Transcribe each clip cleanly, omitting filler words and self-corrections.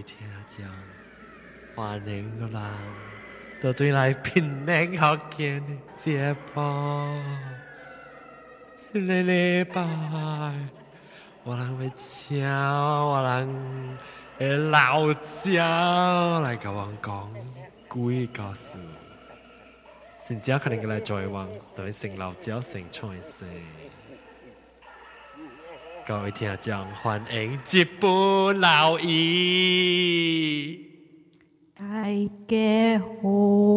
听讲，欢迎个人到对来平宁学见的节目。这个礼拜，我人要请我人的老椒来甲我讲几个事。新椒可能来在往对成老椒成创事。各位聽眾，歡迎日本老姨。 大家好。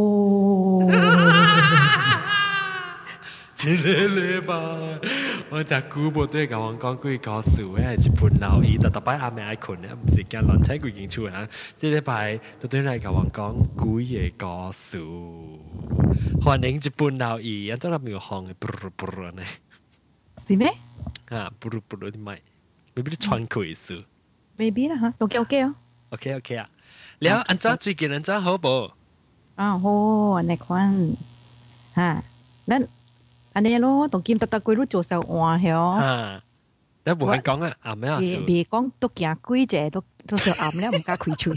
一個禮拜，我只久無對甲我講幾個事誒，日本老姨，特擺暗暝愛困咧，毋是驚亂猜幾間厝啊！這禮拜都對來甲我講幾個故事。歡迎日本老姨，安怎啦沒有紅嘅，啵呢？ 是咩？ 啊，不如啲咪，未必你穿過意思。 maybe 啦嚇，OK 哦。 OK 啊，แล้วอันจ้า最近อันจ้า好無？ 啊好，安尼款嚇，咱安尼咯，同金特特鬼都做手換曉。 嚇，你無閒講啊，暗咩啊？ 別講都行幾隻都手暗了，唔敢開嘴。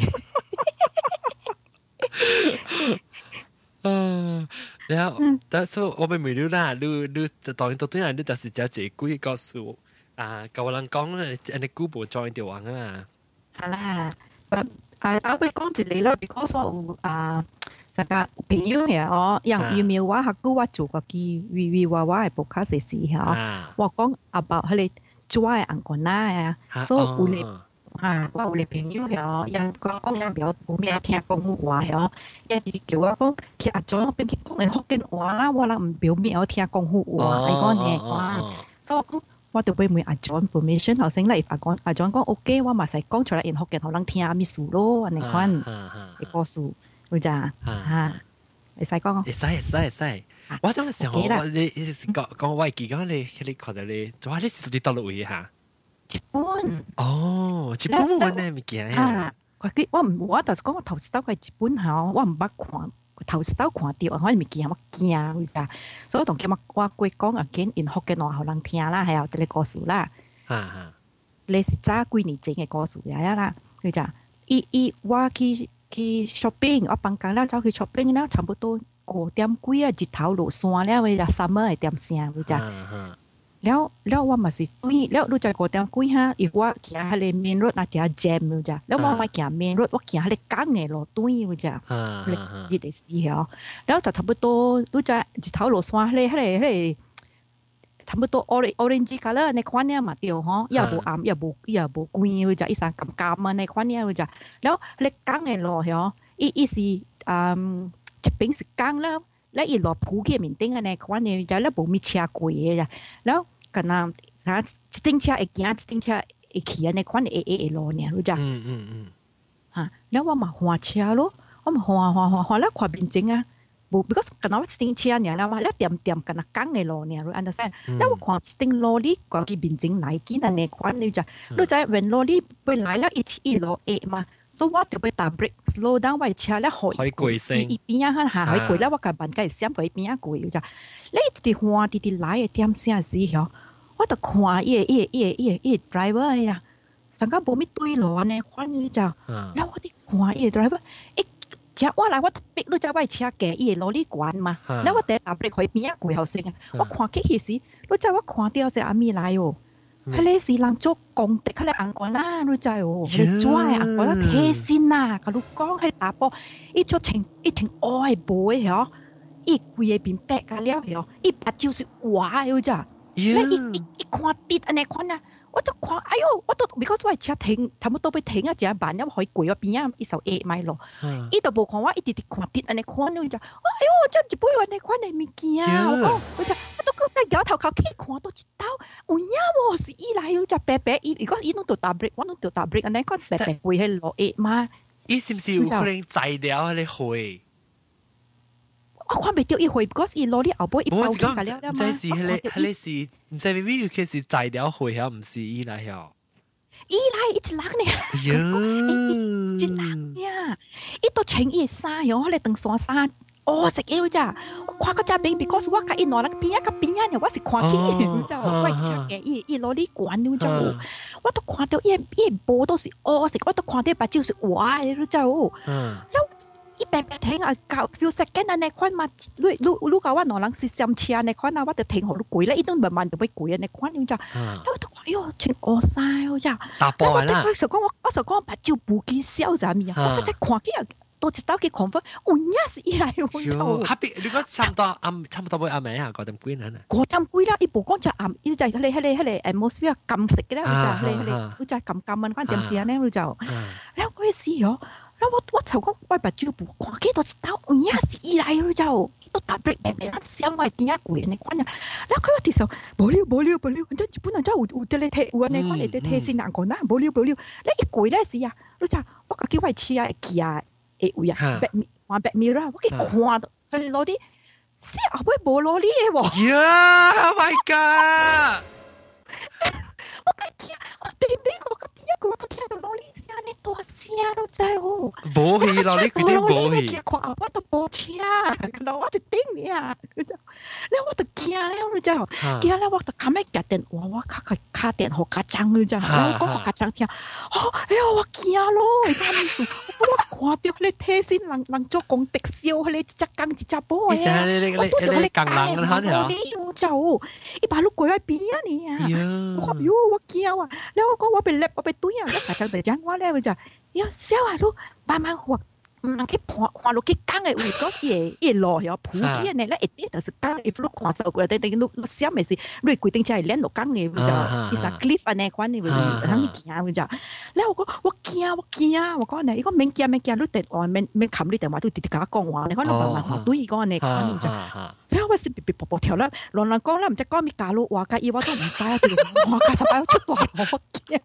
然後，但係我咪未了啦，你當然到底係你就是只幾個數啊？舊人講咧，人哋古無 join 條網啊嘛。 係啦，我講一個啦，because 我成個朋友嘅哦，用 email 我下個我做過機我係報卡時時嚇，我講 about 佢哋做嘅紅幹啦啊，所以有嚟。我有個朋友喎，人講人表有咩聽廣府話喎，一直叫我講，其實做邊去講人福建話啦，我啦唔表面有聽廣府話，係講嘢話，所以我講我就俾問阿 John permission，後生咧，阿 John 講 OK，我咪使講出嚟，人福建可能聽咪數咯，你講你個數，會咋嚇？你使講？ 會使，我當時候你講我記講你覺得你做下你是到落位嚇？ 日本哦，日本文嘅物件呀！ 我就是講我頭次到去日本嚇，我唔捌看，頭次到看到嗰啲物件我驚，會咋？所以同佢我過講啊，見因福建話互人聽啦，係有一個故事啦。你是早幾年前嘅故事嚟啦，會咋？我去 shopping， 我放假啦，走去 shopping 啦，差不多5點幾啊，日頭落山了，會咋？summer 係點聲，會咋？แล้วว่ามาสิตุ้ยแล้วรู้จักกูแต่กุ้ยฮะอีกว่าเขียนให้เมนรถอาจจะแจมรู้จักแล้วว่ามาเขียนเมนรถว่าเขียนให้กั้งไงรถตุ้ยรู้จักเลยจีได้สิเหรอแล้วแต่ทำไปตัวรู้จักจิตเท้าหลวงสวาให้ทำไปตัว orange color ในควันเนี่ยมาเดียวฮะอย่าบูอย่าบูกุ้ยรู้จักอีสานกำมาในควันเนี่ยรู้จักแล้วเลยกั้งไงรถเหรออีสิจะเป็นสิกั้งแล้วอีรถผู้เกี่ยมินติ้งในควันเนี่ยแล้วบูมีเชียร์กุยจ้ะแล้วกันนะสติ้งเชียร์อีกอย่างสติ้งเชียร์อีกเขียนในควันรอเนี่ยรู้จักฮะแล้วว่ามาหัวเชียร์咯ว่ามาหัวแล้วความเป็นจริงอ่ะบุบิก็กันนะว่าสติ้งเชียร์เนี่ยแล้วว่าแล้วเตรียมกันนะกั้งไงรอเนี่ยรู้อันนั้นแล้วว่าความสติ้งรอลี่กว่ากี่เป็นจริงไหนกี่นั่นในควันรู้จักรู้จักเว้นรอลี่ไปไหนแล้วอีรอมา所以我就要打 break slow down 為車咧可以攰先，一邊啊嚇可以攰咧，我個板梗係想佢一邊啊攰咋，你哋換啲來嘅點聲時候，我就看伊 driver 呀，成個冇咩對路呢，看你就，然後我啲看伊 driver，其實我嚟我逼你就為車嘅伊攞呢管嘛，然後我第打 break 佢邊啊攰後先啊，我看起時，你就我看到隻阿咪來喎。佢哋是人做工的，佢哋紅幹啦，你知喎？佢哋做係紅幹啦，貼線啦，佢哋講係打波，一條愛波嘅嗬，一貴嘅變白㗎了嗬，一白就是話嘅咋，你一看跌安尼看啊，我都看，哎呦，我都 because 我係車停，差唔多要停啊，只板因為可以攰啊，邊啊一手8米咯，伊都冇看我，一直看跌安尼看你咋，哎呦，真係唔會安尼看你物件啊，我講，我就。搖頭靠 K 看到一刀，有影喎是伊來有隻白白，如果伊攏做 double， 我攏做 double， 安尼看白白會係落葉嘛？ 伊是唔是有可能摘了迄個灰？ 我看袂到伊灰 ，because 伊落啲後背伊包起來了嘛。 這是迄個是，唔知明明有佢是摘了灰，嚇唔是伊來嚇。 伊來一隻人呢？一隻人呀！伊都穿伊衫喲，迄個長衫衫。 哦食嘢咋，我看嗰只餅 because 我甲伊攞嚟邊呢，我是看見嘅，咋，我食嘅，伊攞嚟管了咋，我都看到伊波都是哦食，我都看到把酒是哇嘅咋，แล้วอีแบบ停啊搞 few second 啊ในควันมาลูกว่าหนอลังสิซัมเชียในควันนะว่าจะ停好กุยแล้วอีต้องแบบมันจะไปกุยในควันอยู่จ้ะแล้วตัว哎呦全อ晒จ้ะ打波啊啦我就講把酒不記笑咋咪啊我就看見多一刀嘅confirm我也是以來喎哈比如果差唔多會暗暝啊嗰點幾難啊嗰點幾啦伊無講就暗伊就係迄個 atmosphere 禁食嘅咧佢就禁มัน關點事啊咧佢就แล้ว嗰時哦แล้ว我就講我把酒不看幾多一刀我也是以來佢就都打 break 誒想我點解攰呢關啊แล้ว佢話其實無聊真日本人真有啲咧睇有呢關嚟睇先難講啦無聊你一攰咧時啊佢就我叫佢試下記啊誒會啊玩白米啦我佢看到佢攞啲死阿妹無攞啲嘢喎 Yeah oh my god 我講聽我對面我講聽我都聽到攞啲聲呢多聲都真係好冇戲攞啲佢啲冇戲我都冇聽然後我就頂你啊แล้ว我就驚แล้วจ้ะ驚แล้ว我就卡咩夾電話我卡電好緊張เลยจ้ะแล้วก็好緊張聽哎呀我驚咯而家咪數我看到你睇先人做公敵笑你隻更一隻波啊我都有你更冷啦嚇你就一把路過來邊啊你啊我講我驚啊แล้วก็ว่าเป็นเล็บว่าเป็นตุ้ยอ่ะแล้ว緊張地講我咧จ้ะ要笑啊ลูก慢慢學人去看落去講嘅，為嗰嘢落去普遍嘅咧，一啲就是講，if 你看到過，你想嘅是，你規定就係練落講嘅，就其實 cliff 啊呢關嘅，讓你驚嘅就，แล้ว我驚，我講呢，如果免驚，你電話免冚你電話都直接甲我講話，你講你慢慢學對講呢關就，แล้ว我是別步跳啦，人講啦，唔知講咩假路話假意我都唔知啊，我假實擺出嚟我驚。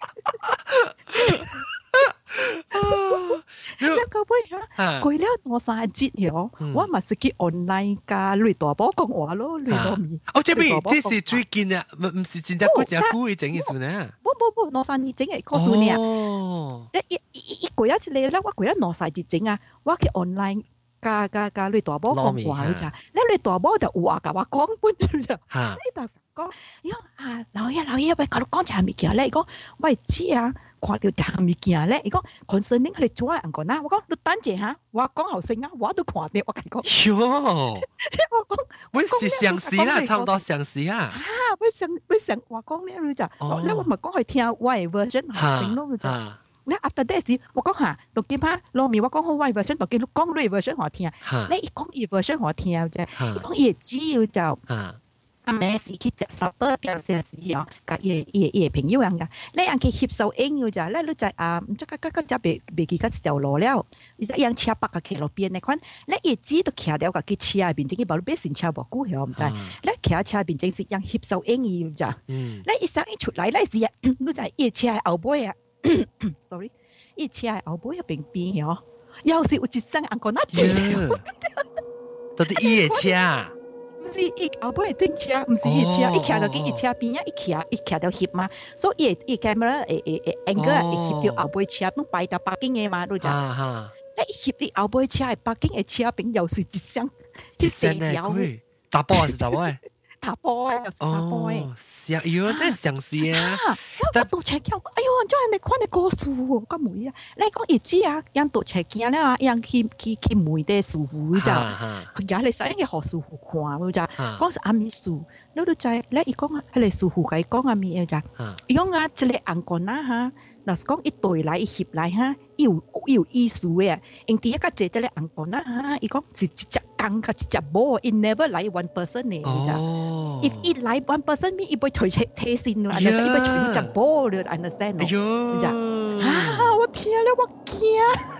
แล้วก็ไปฮะคุยแล้วตัวสายจิตเหรอว่ามาสกิออนไลน์การลุยตัวบอก講話咯ลุยตัวมี這是最近啊唔是真正嗰隻股去整嘅算呢冇攞晒你整嘅個數呢一個一次你咧我佢咧攞晒節整啊我去 online 加ลุยตัวบอก講話จ้ะแล้วลุยตัวบอก就話กับว่า講本จ้ะ你就講老爺喂搞到講下物件咧講喂知啊看到下物件咧伊講 concerning 佢哋做人講啦我講你等陣嚇我講後生啊我都看到我講喲我講我是相似啦差唔多相似啊我想我講咧就แล้ว我咪講佢聽我嘅 version 後生咯就แล้ว after that 時我講下讀見下羅面我講好我 version 讀見你講你 version 我聽你一講伊 version 我聽啫伊講伊只要就咩事去接受多啲嘅事哦，個嘢朋友樣噶，你人去接受應要就，你就唔知個就別記個條路了，你就樣車北個騎路邊你看，你一知都騎了個佢車邊正，佢把路邊先車無估曉唔知，你騎車邊正是樣接受應要就，你一上一出來，你是你就一車後背啊 ，sorry， 一車後背邊邊哦，要是有一聲人講那字， 到底一車。 唔是伊後尾頂車，唔是伊車，伊騎到佢伊車邊啊，伊騎到翕嘛，所以伊 camera angle 會翕到後尾車，都擺到北京嘅嘛，都就，你翕啲後尾車係北京嘅車邊又是一雙，一成條， 打波還是打波？ 打波又是打波誒， 是啊，喲，真係相似啊！ 但讀車鏡，哎呦，真係你看你個樹喎，咁梅啊！你講伊知啊，樣讀車鏡咧啊，樣去梅啲樹湖就，佢而家你使嘅學樹湖看就，講是阿咪樹，你都就咧伊講啊，係你樹湖嘅講阿咪嘅就，伊講啊，即係硬講啦嚇。嗱，講一對來一翕來哈，有意思嘅。因第一個姐姐咧硬講啦嚇，伊講是一隻公甲一隻母 ，it never 來 one person 嘅，就。If it 來 one person，咪伊會推車線咯，伊會推一隻母咯 ，understand 咯，就。我聽咧，我驚。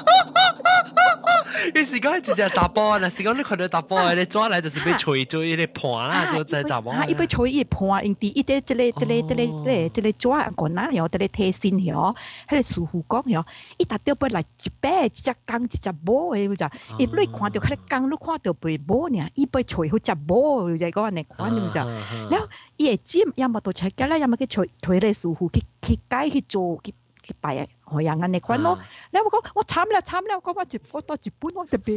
你是講直接打波啦，是講你看到打波，你抓來就是被吹咗一啲盤啦，就在打波。 伊被吹一盤，因第一啲即個抓人講啦，然後即個睇線喎，喺個樹湖講喎，伊達到嚟一百一隻公一隻母嘅就，伊你看到佢公，你看到被母呢，伊被吹好隻母就講你講就，然後伊會知有冇到出街啦，有冇去吹嚟樹湖去街去做去。 去拜海洋安尼款咯。你我講我慘啦，我講我到日本我特別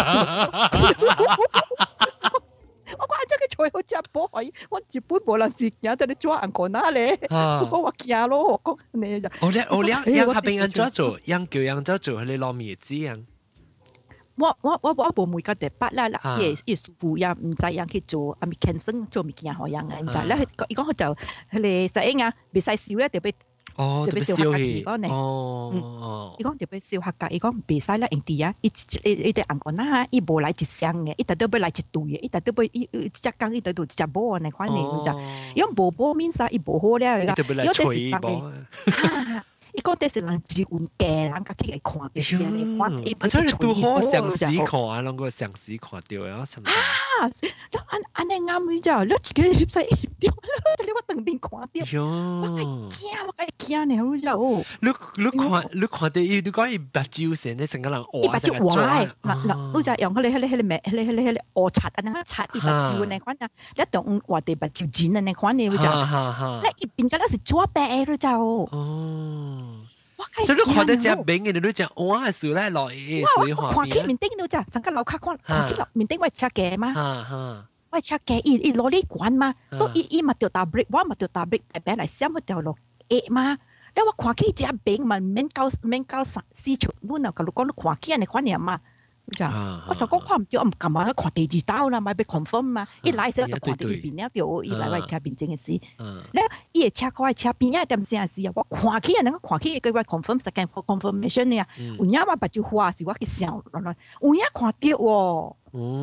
我講真嘅菜好食寶海，我日本無人食嘢，就你做人講哪咧？我講我驚咯，我講你就。 我樣下邊人做，樣叫樣做，你攞咩子樣？ 我無每個地八啦，也師傅也唔知樣去做，阿咪 cancel 做物件好樣嘅，唔知咧。伊講佢就佢哋實應啊，別使燒咧，特別燒氣。伊講特別燒客家，伊講別使啦，印地啊，伊哋人講啦，伊無來一箱嘅，伊特都要來一堆嘅，伊特都要一隻缸，伊特都隻煲嘅款嚟就，伊講無煲面曬，伊無好咧，伊講吹煲。伊講這是人自運嘅，人家去嚟看嘅，嚟看。 而且你都好詳細看啊，啷個詳細看到啊？ 安尼啱嘅咋？你自己翕曬翕掉，你我當邊看掉。我驚你好就。 你看到伊，你講伊白椒先，你成個人白椒壞，嗱，就用佢臥擦啊，那擦伊白椒那款啊，你當話地白椒剪啊那款你就，你一邊就那是做白嘅就。 所以你看到只餅嘅，你都只哇樹咧落去水花邊。 看起面頂你就成個樓卡看起面頂我車嘅嘛。我車嘅，伊攞呢管嘛，所以伊咪掉大 break， 我咪掉大 break， 誒俾嚟閃咪掉落誒嘛。你話看起只餅咪免交4條，我嗱個講你看起你看嘢嘛。我就講看唔到，我唔撳啊！看第二刀啦，咪被 confirm 嘛。一來時就看第二邊了，就一來我睇邊正嘅事。咧，伊個車過車邊一點先事啊！我看起人，看起佢話 confirm second confirmation 呢啊。有影我白就話是我去想落來，有影看到喎。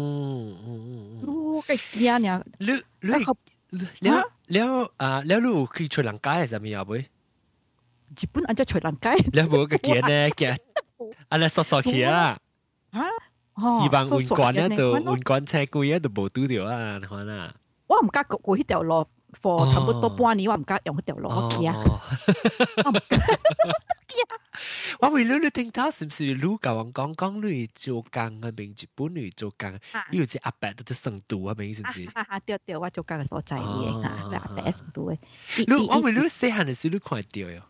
我嘅驚呢！ 你有去吹人街係什麼啊？會？ 日本按照吹人街。 你有冇個見呢？見，安尼索起啊！伊幫運關啊，就運關車櫃啊，就無拄着啊，你看啊。 我唔敢過迄條路，差不多半年，我唔敢用迄條路，我驚。 我為你聽到是唔是你甲我講你做工啊？邊日本你做工，你有隻阿伯都成都啊？邊是唔是？ 對，我做工嘅所在嘅，阿伯成都嘅。 我為你細漢嘅時你看到喲。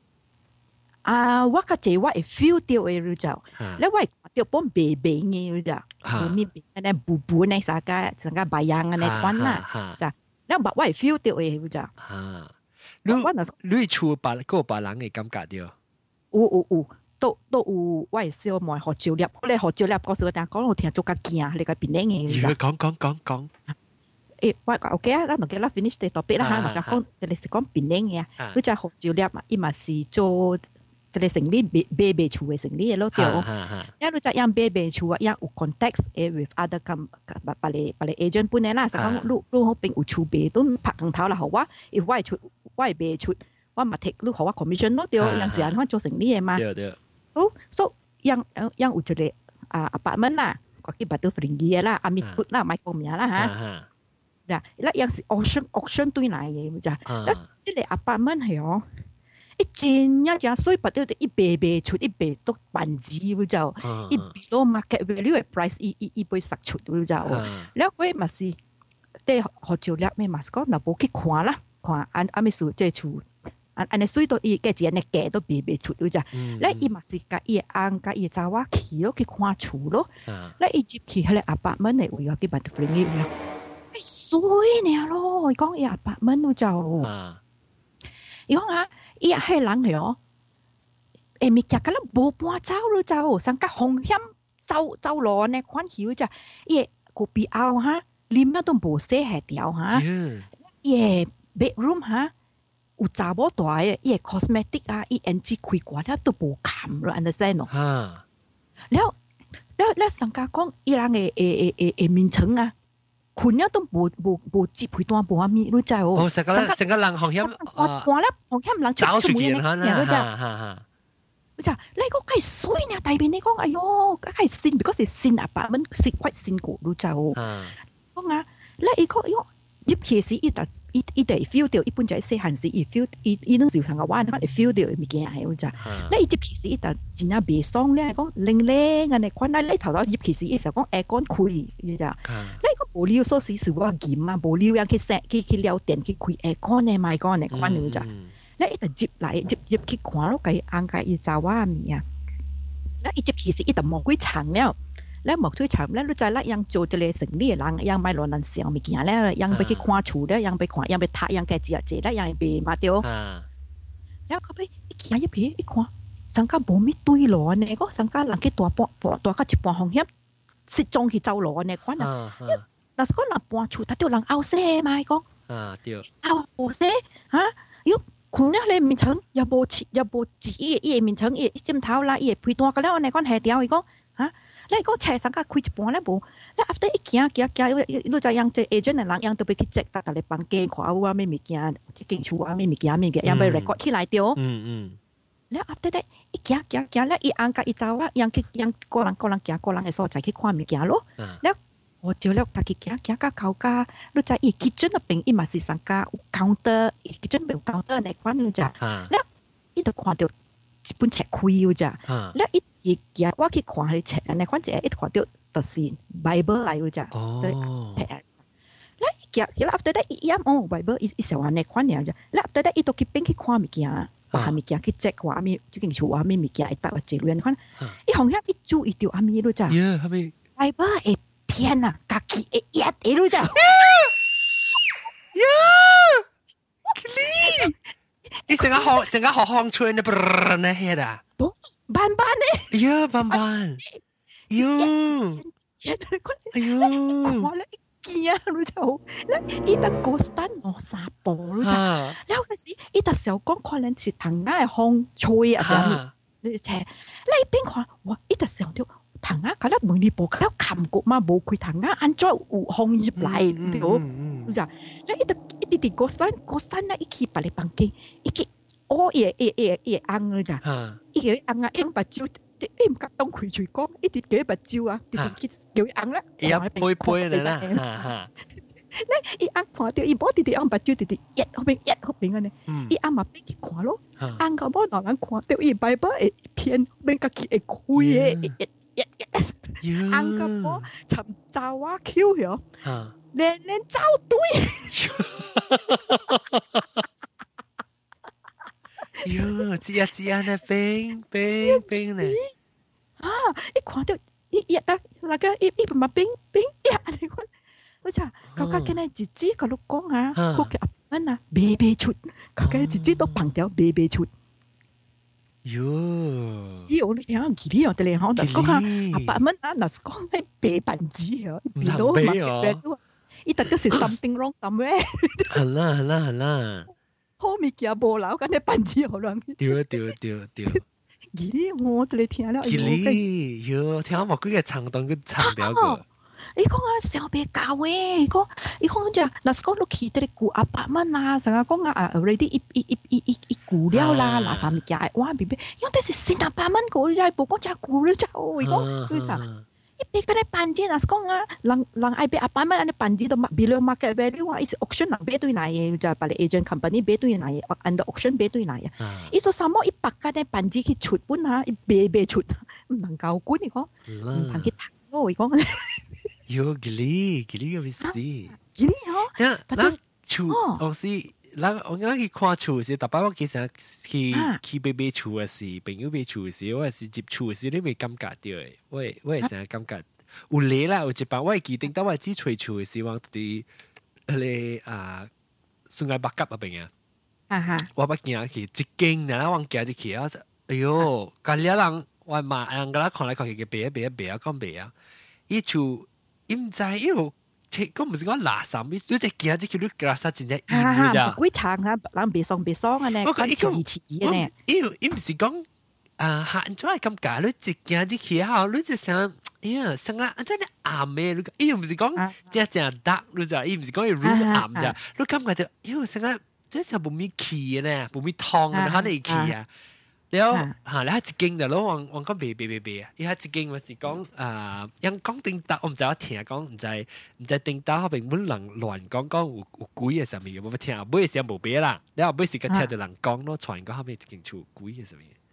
我個姐我會 feel 到嘅就，你我掉幫白白嘅就，面邊嗰啲布呢，成個白樣嘅呢款啦，就，你我會 feel 到嘅就。 你厝白個白人嘅感覺掉？ 有，都有，我會小妹學照粒，你學照粒嗰時，但係講我聽做個驚，你個邊嘅嘅。 講。 我 OK 啊，咱就叫啦 finish 啲 topic 啦嚇，就講就係講邊嘅嘢，你就學照粒嘛，伊嘛是做。就係成立白厝嘅成立咯，對。因為就樣白厝啊，樣有 context with other 把你 agent 本嚟啦，就講你好邊有厝白都拍鏡頭啦，好啊。if 我係白厝，我咪 take 你好啊 commission 咯，對。有時間我做成立嘅嘛。 對。 so 樣有一個apartment 啦，嗰啲白都 free 嘅啦，阿咪 good 啦，買個名啦嚇。嗱，樣是 auction 對嚟嘅就，即係 apartment 係哦。真一所以白到一白出一白都半子就，一below market value 嘅 price 一杯十出就，แล้ว佢咪是啲學照叻咩嘛？講嗱冇去看啦，看阿咪數即係厝，安尼水到伊嘅錢嘅價都白出就，แล้ว伊咪是甲伊安甲伊查話去咯去看厝咯，แล้ว伊入去喺個 apartment 嚟會有啲白到 free 嘅，水呢咯，講伊 apartment 就，伊講啊。伊係人嚟哦，咪食個啦無搬走咯就，上個風險走路呢款曉就，伊個邊後哈，裡面都無洗下掉哈，伊 bedroom 哈，有查某大嘅，伊 cosmetic 啊，伊 NG 開關啊都無冚咯，understand 咯？แล้ว上個講伊人嘅面層啊。คุณเนี่ยต้องบูจีบตัวบัวมีรู้ใจโอ้成個人好像話咧，好像人找出嚟嚇รู้จัก你ก็ใครสวยเนี่ยแต่เป็นนี่ก็哎喲ใครซินbecause 是ซิน啊吧มัน是quite ซินกูรู้จักโอ้ก็งะแล้วอีกก็入去時伊哋 feel 到，一般就係細漢時伊 feel 伊都時常個玩，佢 feel 到物件係，就，咧伊入去時伊就真係袂爽咧，講冷啊，你看咧，你頭頭入去時伊時講aircon開，你就，你個無聊所時是我嫌啊，無聊樣去聊電去開aircon咧，賣講你看你就， 咧伊就入嚟入去看咯，佢硬解伊查話咪啊，咧伊入去時伊就冇幾長了。แล้วหมอกช่วยถามแล้วรู้ใจแล้วยังโจทย์เลยสิ่งนี้หลังยังไม่รอนันเสียงไม่กี่แล้วยังไปคิดคว้าชูแล้วยังไปขวายังไปถ่ายยังแกเจียเจแล้วยังไปมาเดียวแล้วเขาไปอีกอย่างยี่ผีอีกขวาสังกัดบ่มีตุยหลอเนี่ยก็สังกัดหลังแกตัวปอตัวก็จิบปอห้องเฮียบสิจงที่เจ้าหลอเนี่ยควันน่ะแล้วก็หลังปอชูถ้าเดียวหลังเอาเซ่มาก็เดียวเอาเซ่ฮะยุคุณเนี่ยเลยมินเชิงอย่าโบจีอีมินเชิงอีจิ้มเท้าละอีพุยตัวก็แล้วในก้อนแห่เดียวอีกก็ฮะแล้วก็แชร์สังกัดคุยจะปอนแล้วบุแล้ว after อีกอย่างรู้จักยังเจอเอเจนต์หลังยังตัวไปคิดเจ็กแต่เลยปังเกงขวาว่าไม่มีเกียร์ที่เก่งชัวไม่มีเกียร์ยังไปเรคคอร์ดที่หลายเดียวแล้ว after ได้อีกอย่างแล้วอีอังกับอีเจ้าว่ายังกำลังเกียร์กำลังไอ้โซ่ใจคิดความมีเกียร์咯แล้วโอ้เจอแล้วถ้าคิดเกียร์ก็เขาก็รู้จักอีคิดเจนเป็นอีมาสิสังกัดเคาน์เตอร์อีคิดเจนเป็นเคาน์เตอร์ในความรู้จักแล้วอีตัวความเดียว本冊開咗咋，咧一嘢我去看佢冊，你看隻一看到就是 Bible 嚟咗咋，咧一after that 一哦 Bible 一時話你看嘢咋，咧 after that 一到去邊去看物件，話物件去 check 話咪最近做話咪物件一搭或者亂看，一行一注意到阿咪咗咋，Bible 係騙啊，家己係一咗咋， 你成個學巷村的啵那些的， 斑呢？ 呀，斑，喲，哎呦， 我咧見啊，你就咧，伊特個山攞沙步咯，然後嗰時伊特時候講可能是藤啱係風吹啊，上面你斜，你邊看哇？伊特時候條藤啱，佢咧門呢步，佢咧冚過嘛，冇佢藤啱，按咗有風入嚟，對唔？你就咧伊特個山咧，伊起白嚟房間，伊起。哦，也硬了咋？伊個硬啊，硬白蕉，唔夾當佢嘴講，一啲幾白蕉啊，啲叫硬啦， 一杯啦， 咧伊硬看到，伊冇啲硬白蕉，啲一後邊嘅呢，伊硬嘛俾佢看咯，硬個冇人看到，伊拜拜會偏俾家己會開嘅，硬個冇尋找啊 Q 咗，連找對。 喲，知啊，那冰呢？ 啊！一看到一啊，那個一嘛冰呀，你看，我查，佢家嘅呢自己個老公啊，佢嘅阿媽啊，白出，佢嘅自己都綁條白出。 喲！ 咦，我哋聽下吉利哦，哋講，但係講啊，阿爸媽啊，嗱講係白板子哦，變到嘛白都，一特都是 something wrong somewhere。 係啦。 好物件無留，咁你板子好亂。 對。 吉利我哋聽了， 吉利喲，聽我幾個長段佢長條個。 伊講啊，小別教誒，伊講就，嗱講落去啲古阿伯們啊，成日講啊 ，already 一古了啦，嗱啥物件，哇，BB，因為啲是新阿伯們個，你係冇講只古了就，伊講，佢就。一邊嗰啲板子嗱講啊，人愛俾阿爸媽啲板子都below market value 啊，伊是 auction 人俾對嚟，就係把你 agent company 俾對嚟，under auction 俾對嚟啊。伊做什麼一百間啲板子去出本啊，一賣出，唔能夠管你講，唔能去談咯，伊講。 喲，吉利嘅意思。 吉利嗬， 即係嗱，厝我是。我去看厝時，特別我其實去買厝嘅時，朋友買厝嘅時，我係接厝嘅時，你未感覺到嘅，我係成日感覺有嚟啦，有一班我係記定，當我只吹厝嘅時，我哋咧順愛北角嗰邊啊，我不見去一間，然後我行入去啊，哎呦，隔離人我罵人家看來看去嘅白啊，講白啊，伊厝伊唔知伊有。咁唔是講垃圾，你只見只叫你垃圾真正厭㗎咋？ 鬼長啊，人別爽啊呢，講似嘅呢。 伊唔是講行咗係咁假，你只見只去後，你只想成日安怎你暗嘅，伊唔是講正得，你就伊唔是講要 room 暗咋，你感覺就成日即係冇咩氣呢，冇咩湯啊，可能氣啊。แล้วแล้วจิกิงเดี๋ยวเราวังก็เบอ่ะอีฮัจิกิงมันสิ講ยัง講定答我唔知我聽講唔知定答後邊本人亂講有鬼嘅上面有冇聽啊？每時冇別啦，然後每時個聽到人講咯，傳講後邊一間厝鬼嘅上面。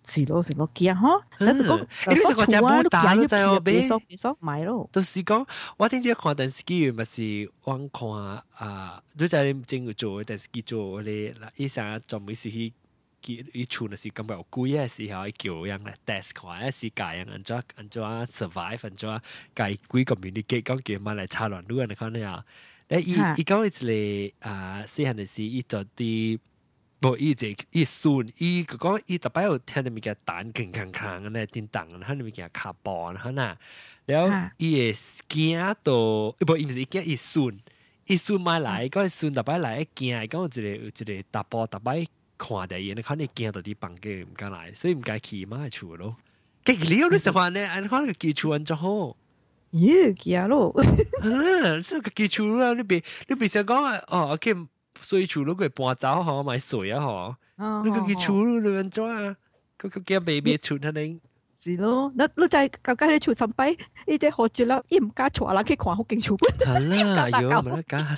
是咯驚吼，但是講你是個只冇打咯，就係別數買咯。 就是講，我頂住看電視機，咪是我看都在正要做電視機做咧，嗱，伊成日做每時去伊厝那是感覺有貴嘅時候，伊叫人嚟 test 看，一時教人安怎 survive，安怎解貴個面啲機，講叫乜嚟插亂亂嚟看咧啊！咧伊講一個細漢嘅時，伊做啲。不，伊孫，伊講伊特別有聽到物件彈鏗鏗鏗嘅咧，電動嘅，佢哋物件卡波啦，嗱，然後伊會驚到，不，伊唔是驚伊孫買來，嗰個孫特別來驚，講有一個大波特別看第嘢，你看你驚到啲房間唔敢來，所以唔敢去媽厝咯。結果你有啲時候呢，你看個基礎安怎好？ 咦，驚咯！ 所以個基礎啦，你別想講哦，OK。所以厝如果搬走嗬，買水啊嗬，你個厝你安怎啊？個叫 baby 厝肯定是咯。你就係舊家你厝上擺，伊啲學住啦，伊唔加錯人去看好勁厝本。 係啦，有唔得加。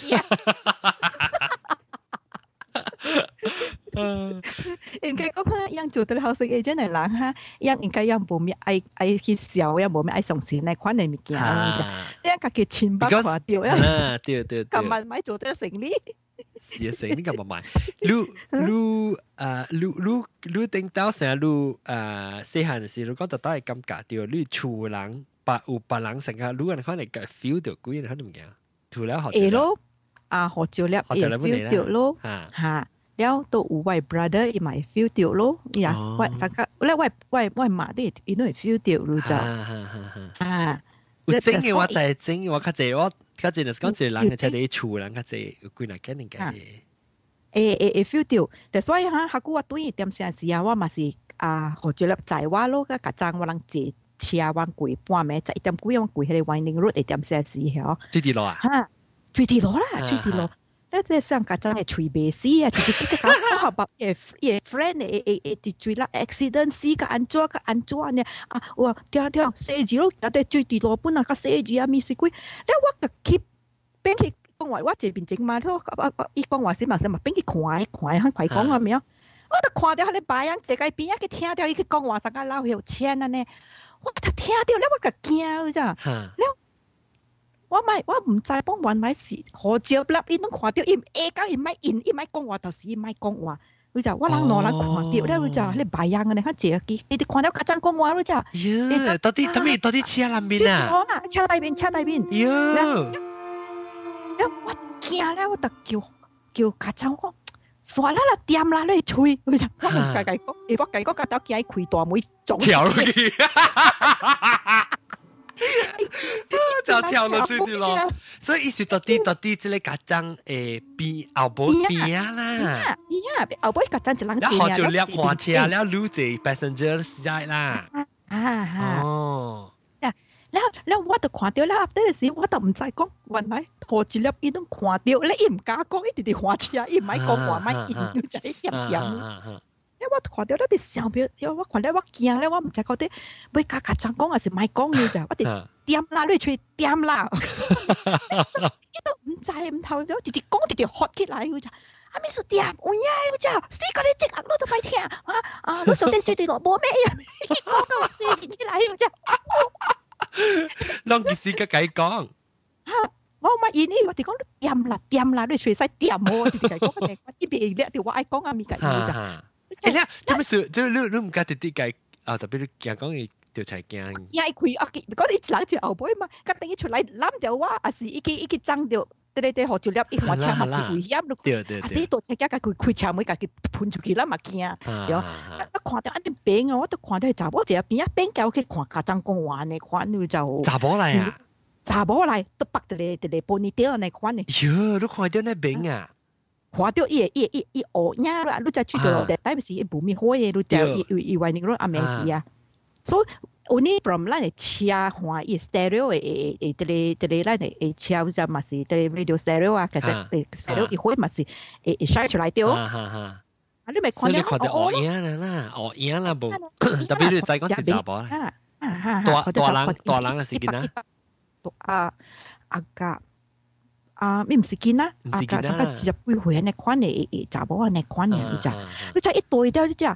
應該講啊，樣做到後生嘅真係難哈，樣應該樣冇咩愛去笑，樣冇咩愛上線嚟款嚟物件，樣家己錢包花掉啊， 對， 今晚買做得成呢？ 也是你咁買，你頂到成日細漢嘅時，你覺得都係咁夾掉，你厝人有別人成日，你可能 feel 到幾人可能唔驚，除了學咯，學咗粒 feel 到咯，嚇，แล้วตัวอูไว brother อีหมาย feel 到咯，呀，ไวสังกัดแล้วไวมาได้อีนู่น feel 到รู้จัก有整嘅話就係整嘅話，較濟我較濟就是講一個人嘅車啲厝人較濟有幾難揀定嘅。 feel 到，但所以哈，下個我對點先時啊，我嘛是學咗粒在我咯，個家長我能坐車往過半暝，就一點幾往過迄個 winding road 一點先時嗬。 最地路啊？ 嚇，最地路啦，最地路。咧即係上家長係隨便死啊，就是即個講學白嘅 friend 誒追啦 accident 死個安怎呢？哇跳死字咯，有啲最地路本啊個死字啊，咪是鬼，咧我個 keep 邊去講話，我這邊整嘛，伊講話先嘛，邊去看快講啊咪啊，我就看到佢哋擺樣這個邊啊，佢聽到伊去講話，上個老有錢啊呢，我就聽到咧，我個驚咋，咧。我唔知幫原來是何照粒，伊都看到伊講伊咪講話，就是伊咪講話。佢就我人攞人看到咧，佢就你白樣嘅，你看這個你哋看到家長講話，佢就呀，到底車南邊啊？ 車大邊。呀，我驚咧，我就叫家長講，算啦，掂啦，你吹，佢就我唔計講，我計講家長驚開大門撞跳落去。就跳落最啲咯，所以意思到底即個家長邊後邊啦， 後邊家長就人然後就掠看車，然後留住 passenger side 啦。 哦，แล้ว我就看到啦，嗰陣時我就唔知講，原來何住粒伊都看到，你唔敢講，伊直直看車，伊唔係講話咪伊就係點。我看到咧啲相片，我看到我驚咧，我唔知嗰啲要家長講還是咪講嘅咋，我哋掂啦，你出掂啦，伊都唔知唔透咗，直直講直直學起來嘅咋，咪說掂，哎呀，嘅咋，死個你即刻攞到咪聽我手電最對落冇咩嘢，講到死起來嘅咋， 啷件事嘅計講？ 我咪意呢，我哋講掂啦，你隨使掂我，直直講嘅，一邊咧條我愛講咪嘅咋。 咧，做咩事？你唔覺得啲計特別你講嘅條柴驚？ 呀，佢嗰啲人就後背嘛，佢等於出嚟攬掉我，還是一爭掉，對學住粒，一看車嘛是危險咯。對，還是到車架佢開車門，佢噴出去啦嘛驚。我看到一啲病啊，我都看到係查某一邊叫佢看家長講話呢，看你就查某嚟啊？ 查某嚟都白得嚟玻璃雕呢款呢。 喲，都看到呢病啊！ 看到伊學呀啦，你就出到但係是無咪好嘢，你就以為你嗰阿咩事啊？所以only from 咱嘅車看伊 stereo 誒哋咱嘅車就嘛是哋 radio stereo 啊，其實 stereo 伊會嘛是shine 出來掉。你咪看到學影啦，無特別你再講是查甫啦，大人嘅事件啦，咪唔是見啦，上個10幾歲呢款嘅查某呢款嘅，你就一對掉你就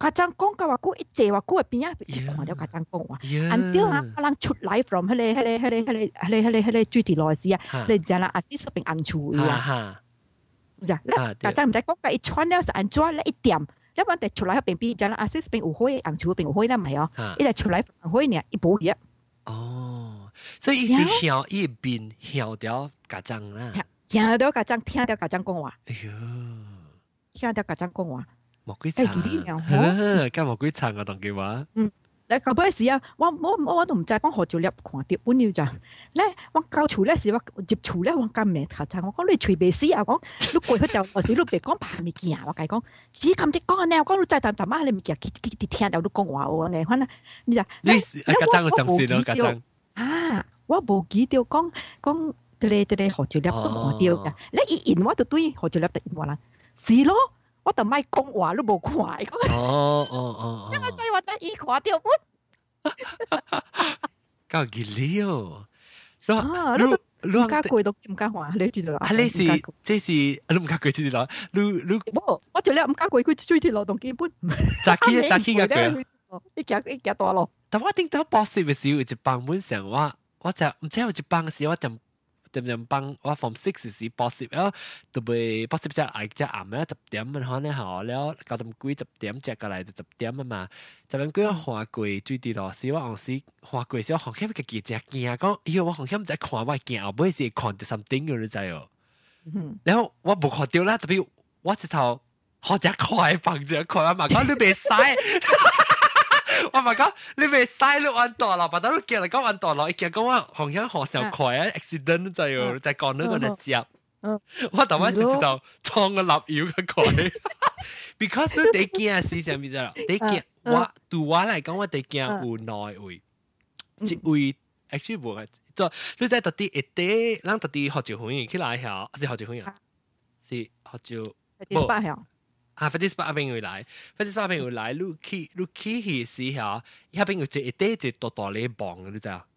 家長講嘅話，佢一坐話，佢邊啊一看到家長講話，until 啊，可能出來 from 迄個水地羅時啊，你知啦，阿是說邊安處啊，係啦，家長唔使講嘅，一穿了是安怎咧一點，一般哋出來邊邊知啦，阿是邊有火，安處邊有火啦，唔係哦，一嚟出來火呢，一冇嘢。 哦，所以伊是曉伊邊曉掉家長啦， 曉掉家長，聽掉家長講話， 哎呦， 聽掉家長講話。 莫鬼慘，咁莫鬼慘啊！當佢話， 你後尾時啊，我都唔知講何條粒看到本了咋？咧我教厝咧時我接厝咧我咁咩頭先我講你隨便死啊！講你過去就我時你別講怕物件，我計講只咁只講呢，我講你再淡淡啊！你物件聽到你講話喎，你看啊，你就你家長嘅相信咯，家長啊，我無記到講這何條粒都看到嘅，你一言我就對何條粒就言話啦，是咯。我就咪講話都冇看，因為真係話得意看掉本， 夠熱了。 你唔加貴都唔加話，你知道啊？ 你是這是你唔加貴知道啦？你我做咧唔加貴，佢追條勞動基本。 扎起嘅佢， 一夾多咯。 但我頂到博士嘅時候，有一幫本上我就唔知有一幫嘅時候，我就。點幫我 form 6時博士แล้วตัวไป博士จะไอ้จะอ่ำแล้ว10點มันฮอนเนี่ยหอแล้ว9點幾10點隻過來就10點啊嘛10點幾花貴最低老師我嗰時花貴時我紅險嘅記者驚講喲我紅險唔知看我驚後尾是看到 something 嘅你知哦然後我冇看到啦特別我直頭學隻快放隻快啊嘛講你別嘥我咪講，你咪嘥你揾多啦，把到你叫嚟講揾多啦，一見講我好像好小快啊 ，accident 就係在講那個嚟接，我頭先就知道創個立腰嘅快 ，because 你驚是啥物事啦？你驚我對我嚟講，我哋驚有內位，一位 actually 冇嘅，就你在特地一啲，咱特地學照歡喜起來下，是學照歡喜啊，是學照冇。 啊！飛機巴嗰邊會來，飛機巴嗰邊會來，你去時候，嗰邊有一堆一大大咧磅嘅，你知啊？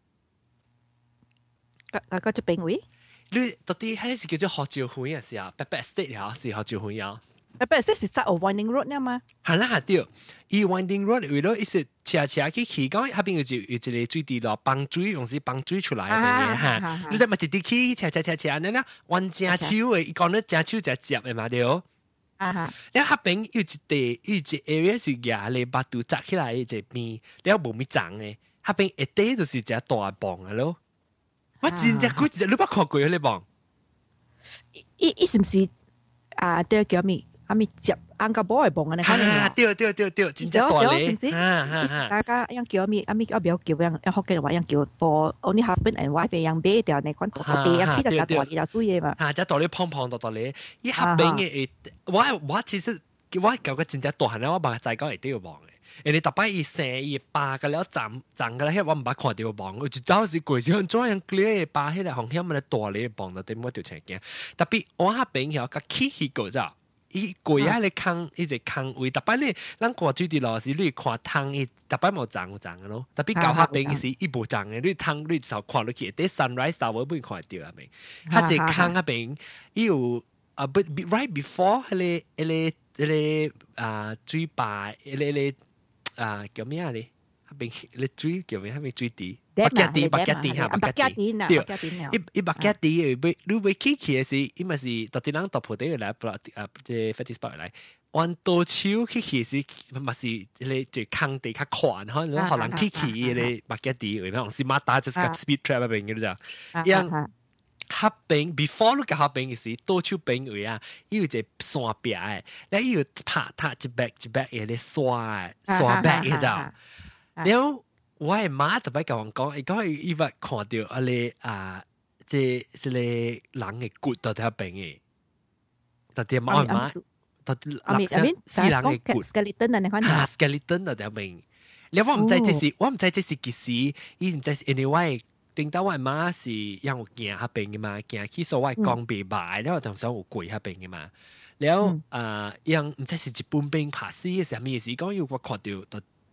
嗰隻邊位？ 你到底係是叫做學照會嘅時候 ，Back State 啊，是學照會啊。 Back State 是實有 Winding Road 呢嘛？ 係啦，係對。伊 Winding Road 為咗一時斜去講，嗰邊有一個水地咯，幫水用是幫水出來嘅嚇。你知咪直直去斜呢啦，彎正手嘅，講得正手就接嘅嘛對。แล้วถ้าเป็นอยู่จิเอเรียสุยาเลยบาตูจัก起來จะมีแล้วบ่มีจังเลยถ้าเป็นเอเต้就是只大磅啊咯我真正佢真你捌看過迄個磅伊是唔是啊對叫咩啊咪接安個寶嘅磅啊你看啊對真正大咧大家樣叫咩啊咪啊表叫樣福建話樣叫 for only husband and wife 樣俾掉你講大啊，佢就大嘅就水嘅嘛。 嚇，只大咧胖大咧，伊下邊嘅我其實我舊個真正大漢咧，我冇再講一定要磅嘅。你特別伊成伊八個了站個咧，我唔捌看到磅，我就走時過時向左樣嗰個八迄個紅險咪大咧磅，就點我條青鏡。特別我下邊有個起個咋。伊貴啊！你坑，伊隻坑位，特別你，咱過水地路時，你看湯伊特別冇漲嘅咯。特別搞下邊時，伊無漲嘅，你湯你就看落去，啲 sunrise 就會看到啊咪。佢隻坑下邊，伊有啊不 right before 迄個水壩，迄個叫咩啊咧？下邊迄水叫咩？下邊水地。白吉地嚇，白吉地，對，伊白吉地，你要起嘅時，伊咪是特地人突破啲嚟，即 fetish spot 嚟，按倒手起嘅時，咪是你即坑地較寬，可能起嘅白吉地，為咩？我是馬達就是個 speed trap 入邊嘅啫，樣下邊 before 你個下邊嘅時，倒手邊位啊，伊有隻山壁嘅，你伊有拍一百嘅咧刷壁嘅啫，然後。我係媽特別甲我講，伊講伊捌看到啊咧即個人嘅骨到底邊嘅，到底媽到底死人嘅骨 skeleton 啊，你看啊 skeleton 到底邊？你我唔知這是幾時，伊唔知是 anyway。頂到我媽是讓我行下邊嘅嘛，行去所謂講白白，然後同時有跪下邊嘅嘛，然後讓唔知是日本兵拍死嘅時候咩事，講要我看到。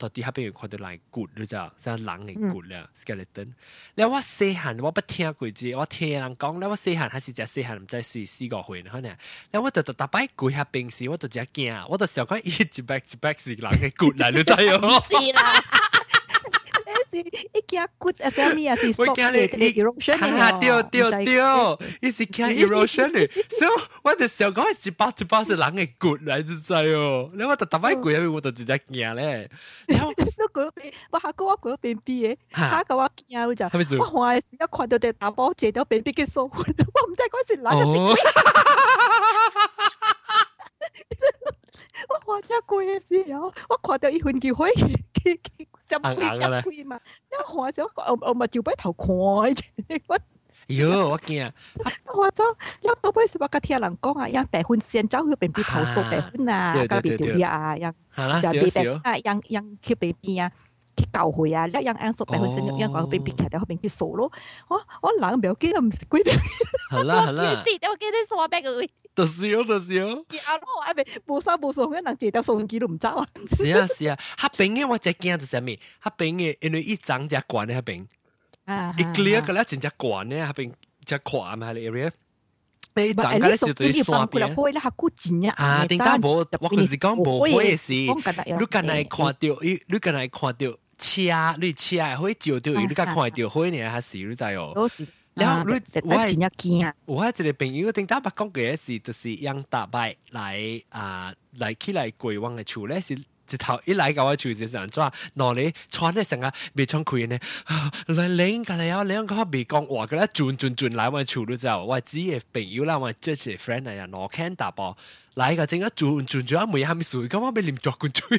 到底下邊有看到人骨，你知道，像人嘅骨啦 skeleton。你我細漢我不聽過字，我聽人講，你我細漢還是只細漢，唔知4-5歲可能。你我就大擺跪下邊時，我就只驚，我就想講一擺是人嘅骨嚟，你知哦？ 是啦。一件骨啊，啥物啊？是 stop 嘅 erosion 嘅。對，伊是驚 erosion 嘅，所以我就想講一包是人嘅骨嚟，你知哦？你我就大擺跪下邊，我就直接驚咧。 然後嗰邊，我下個我嗰邊邊嘅，下個我驚你就，我看嘅時一看到隻大包借咗邊邊嘅數，我唔知嗰時人嘅。我看只鬼嘅時候，我看到伊份叫火上鬼嘛，我看咗我咪照擺頭看嘅。 喲，我驚！ 我咗，因到尾時我甲聽人講啊，因白粉先走去邊邊頭熟白粉啊，甲邊條嘢啊，因就地白啊，因去邊邊啊，去教會啊，一樣熟白粉先，因講邊邊徛到邊邊熟咯。我人唔要記得唔是鬼邊。 好啦， 我記得說白佢。 就笑。 啊！我係咪無手無數，人借到數機都唔走啊？ 是啊，黑邊嘅我只驚就係咩？黑邊嘅因為一張只管嘅黑邊，一 clear 嘅咧真只管咧黑邊只跨嘛係 area。你張嘅咧是對刷邊。啊，點解冇？我就是講冇會事。你近來看到車，你車會照到，你家看到會呢係事，你知哦？然後我一個朋友頂打白講嘅事，就是讓大伯來起來過往嘅厝咧，是一頭一來到我厝時陣做，攞你穿咧成個未穿開呢，你個嚟啊，你個未講話嘅咧，轉來我厝都知道，我自己嘅朋友啦，我即係 friend 嚟啊，攞 can 大伯來個整個轉啊，每下咪水，咁我俾黏著佢追，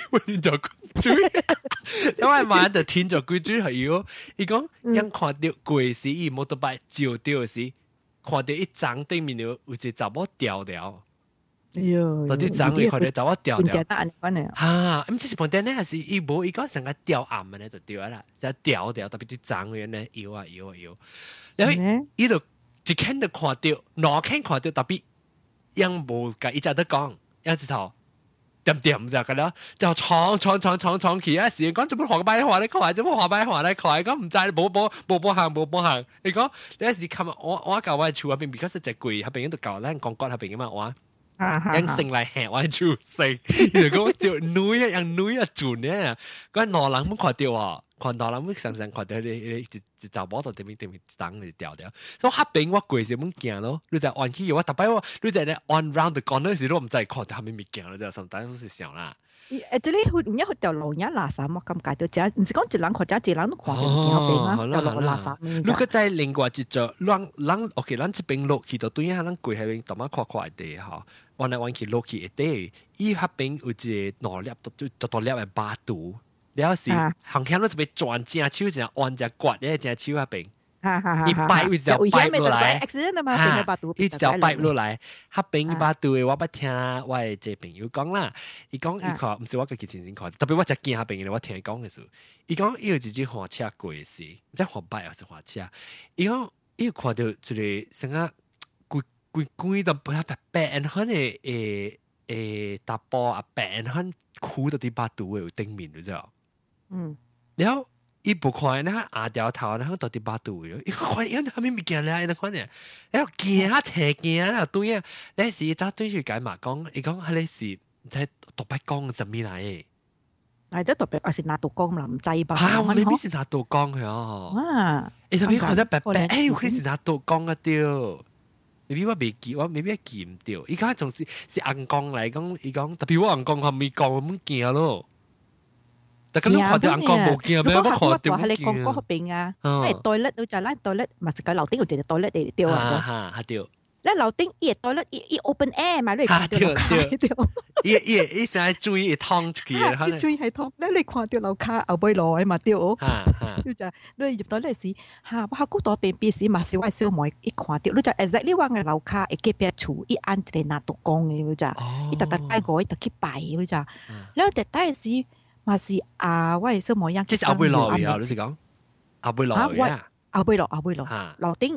因為晚就天就佢追係要，伊講因看到過時，伊冇得擺照到時，看到一張對面有一隻查某掉了。到啲張你看到查某掉了。嚇，咁即是盤頂咧，還是伊冇伊講成個掉暗嘅咧就掉啦，就掉，特別啲張嘅咧搖啊。然後伊就一看就看到，兩看看到特別。因冇㗎，一直都講，一直頭點就㗎啦，就闖起啊！時講做乜學擺話咧，佢做乜學擺話咧，佢講唔知冇行。你講你一時琴日我教我厝入邊 because 隻櫃入邊度教咧講骨入邊嘅嘛，我因成嚟吃我厝食，如果就女啊轉咧，嗰羅人冇看到啊。看到啦，我常看到你就摸到對面張你掉掉，所以黑邊我攰時冇驚咯，你就按起我特別我，你就咧 on round the corner 時都唔知看到後面咪驚咯，就甚至都是想啦。 這裡有一條路一垃圾我咁解到，只唔是講一人看，一人都看到驚邊啊，掉落垃圾。 如果再另外一座，人 OK， 咱這邊落去到對下，咱跪喺邊，慢慢看地嚇，彎來彎去落去一地，伊黑邊有一個攞粒多粒嘅巴肚。了是，行向都特別轉正手，正按只骨咧，正手嗰邊，一擺一條擺落來，一條擺落來，黑邊把肚嘅我不聽，我係這朋友講啦，伊講伊看，唔是我個佢親身看，特別我只見黑邊嘅，我聽伊講嘅時候，伊講伊有一隻火車過嘅時，唔知火擺還是火車，伊講伊看到一個成個規到白很嘅大波啊白很箍到啲把肚嘅頂面，你知道？然後伊不看咧，壓掉頭，然後到啲把肚嘅，伊看因後面咪見咧，你看咧，然後驚下斜驚啦，對啊，你時走對住解嘛講，伊講係你時在獨白講係咩嚟嘅？ 係即特別係拿刀講啦，唔制吧？ 嚇，我你邊是拿刀講嘅哦？啊，你特別看得白，誒，佢是拿刀講嘅掉。maybe 我未記，我未必記唔掉。依家仲是硬講嚟講，伊講特別我硬講，佢未講咁驚咯。但係咁看到硬講冇驚咩？我看到冇驚。你講嗰邊啊，係袋甩到就拉袋甩，咪係個樓頂有隻袋甩嚟掉啊！嚇掉。咧樓頂伊袋甩伊 open air 嘛，你看到樓卡掉。伊成日注意燙出去嘅，注意係燙。咧你看到樓卡後背落嘛掉。就就你入到嚟時嚇，我嗰度邊邊時嘛小小妹一看到，你就 exactly 話嘅樓卡一幾邊處一按嚟拿到講嘅，就一特帶過一特去擺嘅就，แล้ว特帶時嘛是我小妹一。即係後背落嘅啊！你是講後背落嘅啊？後背落樓頂。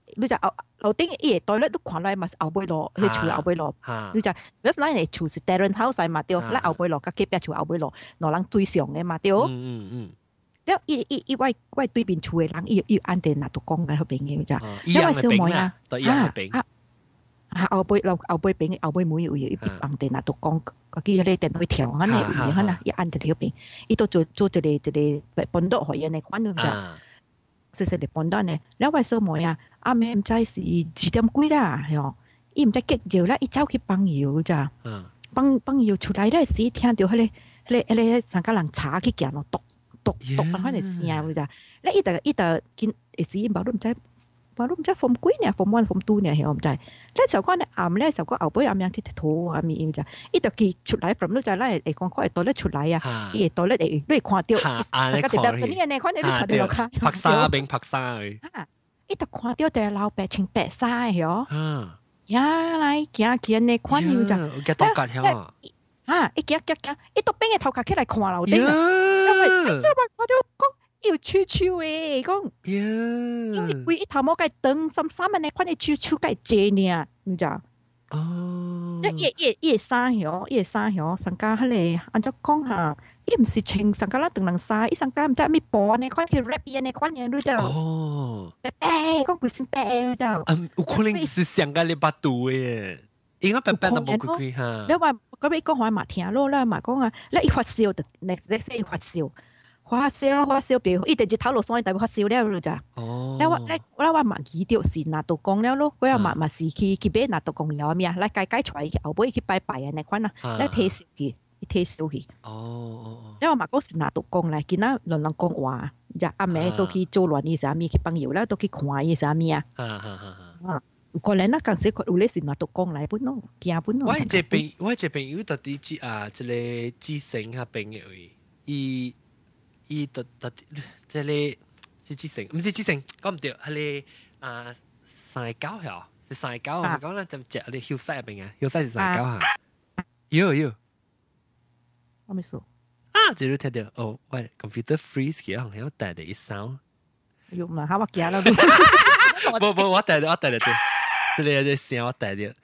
你就樓頂伊個袋咧都看來嘛是後尾路，迄厝後尾路，你就嗰陣咱個厝是terrace house嘛對，咱後尾路甲隔壁厝後尾路，兩人對上嘅嘛對。แล้วอี對面厝嘅人，伊按定拿到講嘅好朋友咋？ 因為小妹啊，對一樣嘅後邊後尾妹有伊按定拿到講，嗰啲咧電腦條嗰啲有嘢啦，伊按定條邊，伊都做一個搬到學嘢嘅款咁咋？細細嚟搬到呢，แล้ว位小妹啊，阿妹唔知是幾點幾啦，係伊唔知幾搖啦，伊走去幫搖咋？幫搖出來咧時聽到迄個三個人查去行咯，讀翻嚟聲咋？咧伊就見時冇都唔知form 幾呢，form 1 form 2呢，係我唔知。咧就講咧暗咧就講後尾暗樣啲圖啊咪咋？伊就記出來 from 都就咧誒講佢袋咧出來啊，伊袋咧你看到，大家特別嗰啲呢，看到你看到落卡， 拍沙邊拍沙佢。 伊就看到啲老白穿白衫嘅嗬。呀來行呢看到咋？ 嘅多格響。 伊行，伊都邊個頭殼起來看樓頂啊！因為我就講。要悄悄誒，講，因為佢一頭毛計燈深嘅呢，款你悄悄計借呢，你知？哦，伊衫響，上家迄個按照講下，伊唔是穿上家啦，等人衫，伊上家唔知咩布呢，款佢 wrap 呢，款嘢你知？哦，白，講佢先白，你知？ 有可能是上家你把肚嘅，應該白都冇佢嚇。 你話嗰邊講話嘛聽咯啦，嘛講啊，你一發燒就 next day 發燒。發燒表，伊直接頭落所以大發燒了咋？哦，我話嘛記掉是拿到講了咯，我又嘛是去買拿到講了咩啊？來解出來，後尾去拜拜啊！那款啊，來退燒去。哦。因為嘛講是拿到講來，見啊人講話，就阿妹都去做亂嘢啥咪，去朋友啦都去看嘢啥咪啊？可能那陣時佢有咧是拿到講來本咯，驚本咯。 我這朋友到底即個知性下朋友伊特即係是知性，唔是知性，講唔對，係你三九係是三九，我講咧就隻你休息入邊啊，休息是三九嚇，有， 我未數啊，這都聽到哦，喂 ，computer freeze 嘅好像帶的一 sound， 有嘛？嚇我驚啦， 不，我帶的這裡有聲我帶的，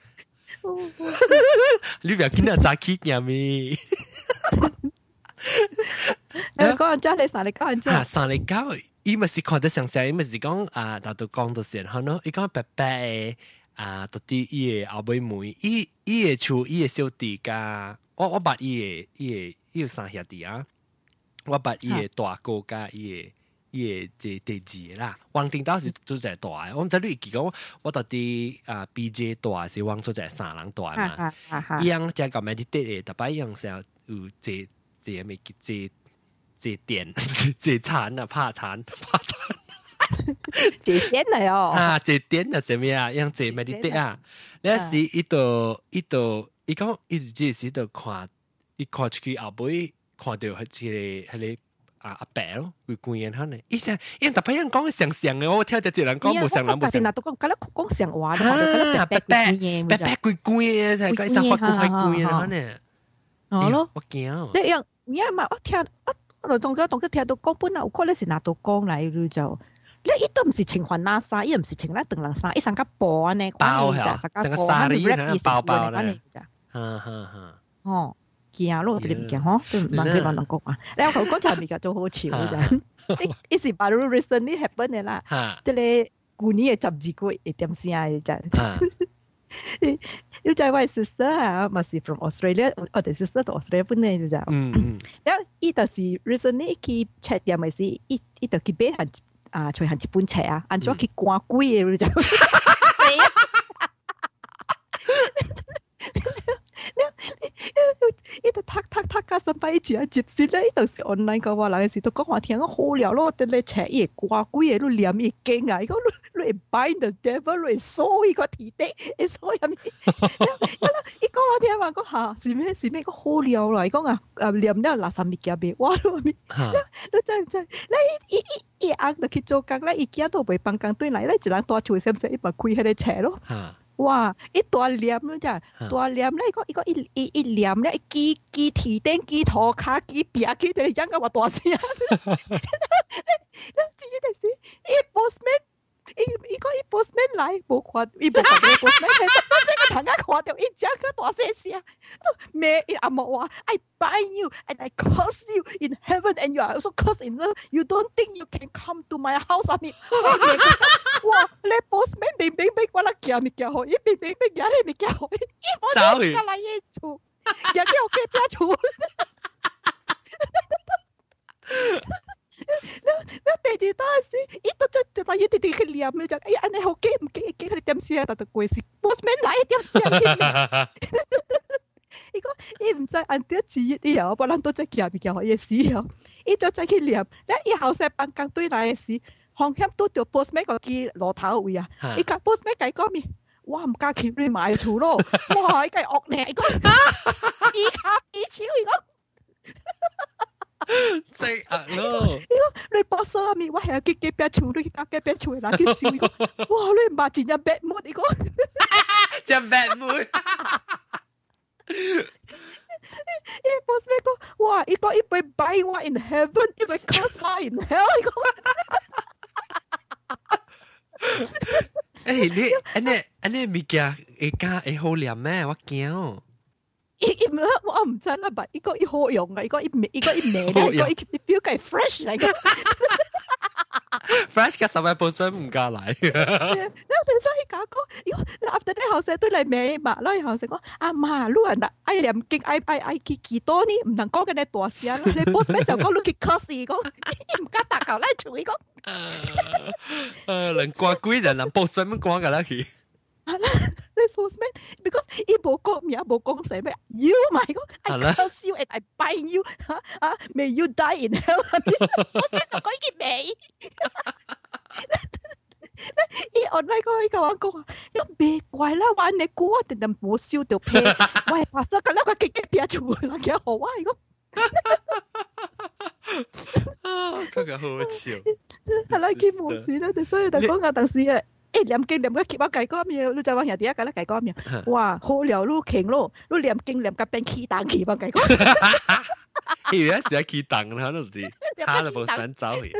你不要見到早起嘅咪。 講咗你上嚟講咗， 上嚟講，伊咪是看得上聲，伊咪是講大都講到先，可能伊講白白嘅到底伊個後尾妹，伊個厝伊個小弟加，我捌伊有三兄弟啊，我捌伊個大哥加伊個第二啦，王定島是做隻大嘅，我唔知你記講，我到底BJ 大是王做隻三人大嘛，伊樣只個 meditate 嘅，特別樣成有這咪這點這殘啊，怕殘， 這點嚟哦。 這點啊，怎麼樣？樣這咪啲啊？那時伊講伊自己是度看，伊看出去後尾看到係個阿伯咯，會觀音嚇呢。伊成特別人講上嘅，我聽隻人講冇上人冇上。 嗱，都講上話啦，白攰嘅，係個上法官係攰嘅嚇呢。哦咯，我驚。 你嘛，我仲聽到講本來有可能是拿到講嚟就，你伊都唔是穿環拉衫，伊唔是穿那長人衫，伊上個布呢， 包嚇，成個紗呢，包呢，哦， 驚咯，你唔驚嗬？都唔問佢問人講啊，你有頭講就咪叫做好笑啫，呢是 baru recently happen 嘅啦，即係舊年嘅12個月點先啊，真。要就係位 sister 啊，咪是 from Australia， 我哋 sister 到 Australia 本嚟就咋。然後伊就是 recently 去 check 點咪是，伊就去買行隨行一本冊啊，按咗去掛櫃嘅就。伊就讀加上擺住啊，接線咧，伊就是 online 嘅話，嗱嘅時都講話聽我好料咯，啲咧冊伊掛櫃嘅都念伊經啊，伊講你 bind the devil， 你鎖伊個地底，你鎖入面。伊講我聽話講下是咩個好料啦，伊講念咧垃圾物件俾我咯咪，你真唔真？你伊硬就去做工咧，伊驚都袂幫工對嚟咧，一人多處先生伊咪開迄個冊咯。哇！伊大念咯咋，大念咧，伊念咧，記地頂、記塗骹、記壁、記到人家話大聲。你至於第時，伊 postman 伊個伊 postman 來，無看，伊無看到 postman， 其實我這個頭家看到伊講個大聲聲，咩伊阿嬤話 ，I bind you and I curse you in heaven and you are also cursed in earth. You don't think you can come to my house 啊？咪，哇！你 postman 明明俾我啦，寄物件好，伊明明俾寄你物件好，伊冇得寄嚟伊厝，寄去我隔壁厝。你第二單時，伊都真係一啲去念你就，哎呀，安尼好記唔記？記佢哋點寫啊？但係過時 postman 來點寫？伊講伊唔使按啲字以後，不然都再寄物件好嘢時候，伊就再去念。咧以後成辦公對來嘅時，方向都條 postman 個記路頭位啊！伊講 postman 計講咩？我唔加錢你買厝咯，哇！伊計惡呢？伊講伊卡伊超伊講。 真惡咯！ 你博士啊咪，我係去隔壁厝，你隔壁厝嘅人去笑，伊講，哇！你唔係真係 bad mood，伊講， 真 bad mood。 伊博士講，哇！伊講伊會 buy 我 in heaven， 伊會 curse 我 in hell， 伊講。 誒，你安尼物件會加會好念咩？我驚哦。 我唔知啦，但伊個伊好用嘅，伊個伊味咧，伊個伊 feel 係 fresh 嚟嘅。 fresh 嘅十位本身唔加嚟。你所以講，你 after 啲後生對嚟味嘛，啦後生講阿媽，你人啊愛念經愛幾多呢？唔能講嘅你大聲啦，你 boss 咩時候講你去 curse 講，唔敢打球嚟做伊講。 人掛鬼人boss 咩講㗎啦佢。 你 postman because 伊無講名無講寫咩 you 咪講 I curse you and I bind you may you die in hell 我先就講件味伊 online 嗰個我講啊別怪啦玩你估我定定冇燒到皮喂發生咁樣個結結出嚟幾好啊伊講嗰個好笑係啦佢冇事啦所以就講啊但是啊念經念個結巴計嗰面，你就話人哋一個咧計嗰面，哇好聊咯勁咯，你念經念個變起檔起吧計嗰。 以為係起檔啦，嗰陣時，他就冇想走去。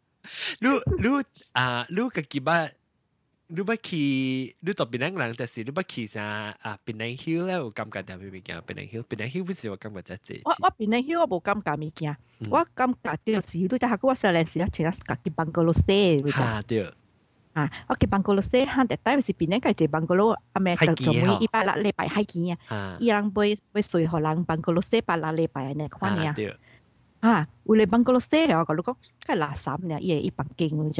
你個結巴，你不去，你到檳城人，但是你不去啥檳城 Hill 咧，有感覺點樣物件？檳城 Hill 不是我感覺真係。 我檳城 Hill 我冇感覺物件，我感覺就是你就係我細陣時啊，請佢去bungalow stay， 嚇對。 我去bungalow stay，han that time 是邊個係bungalow，阿咩就每一百禮拜海見啊，伊人會睡荷人 bungalow stay 百禮拜呢款啊，為了 bungalow stay 我講，佢垃圾呢，伊係一房間嗰隻，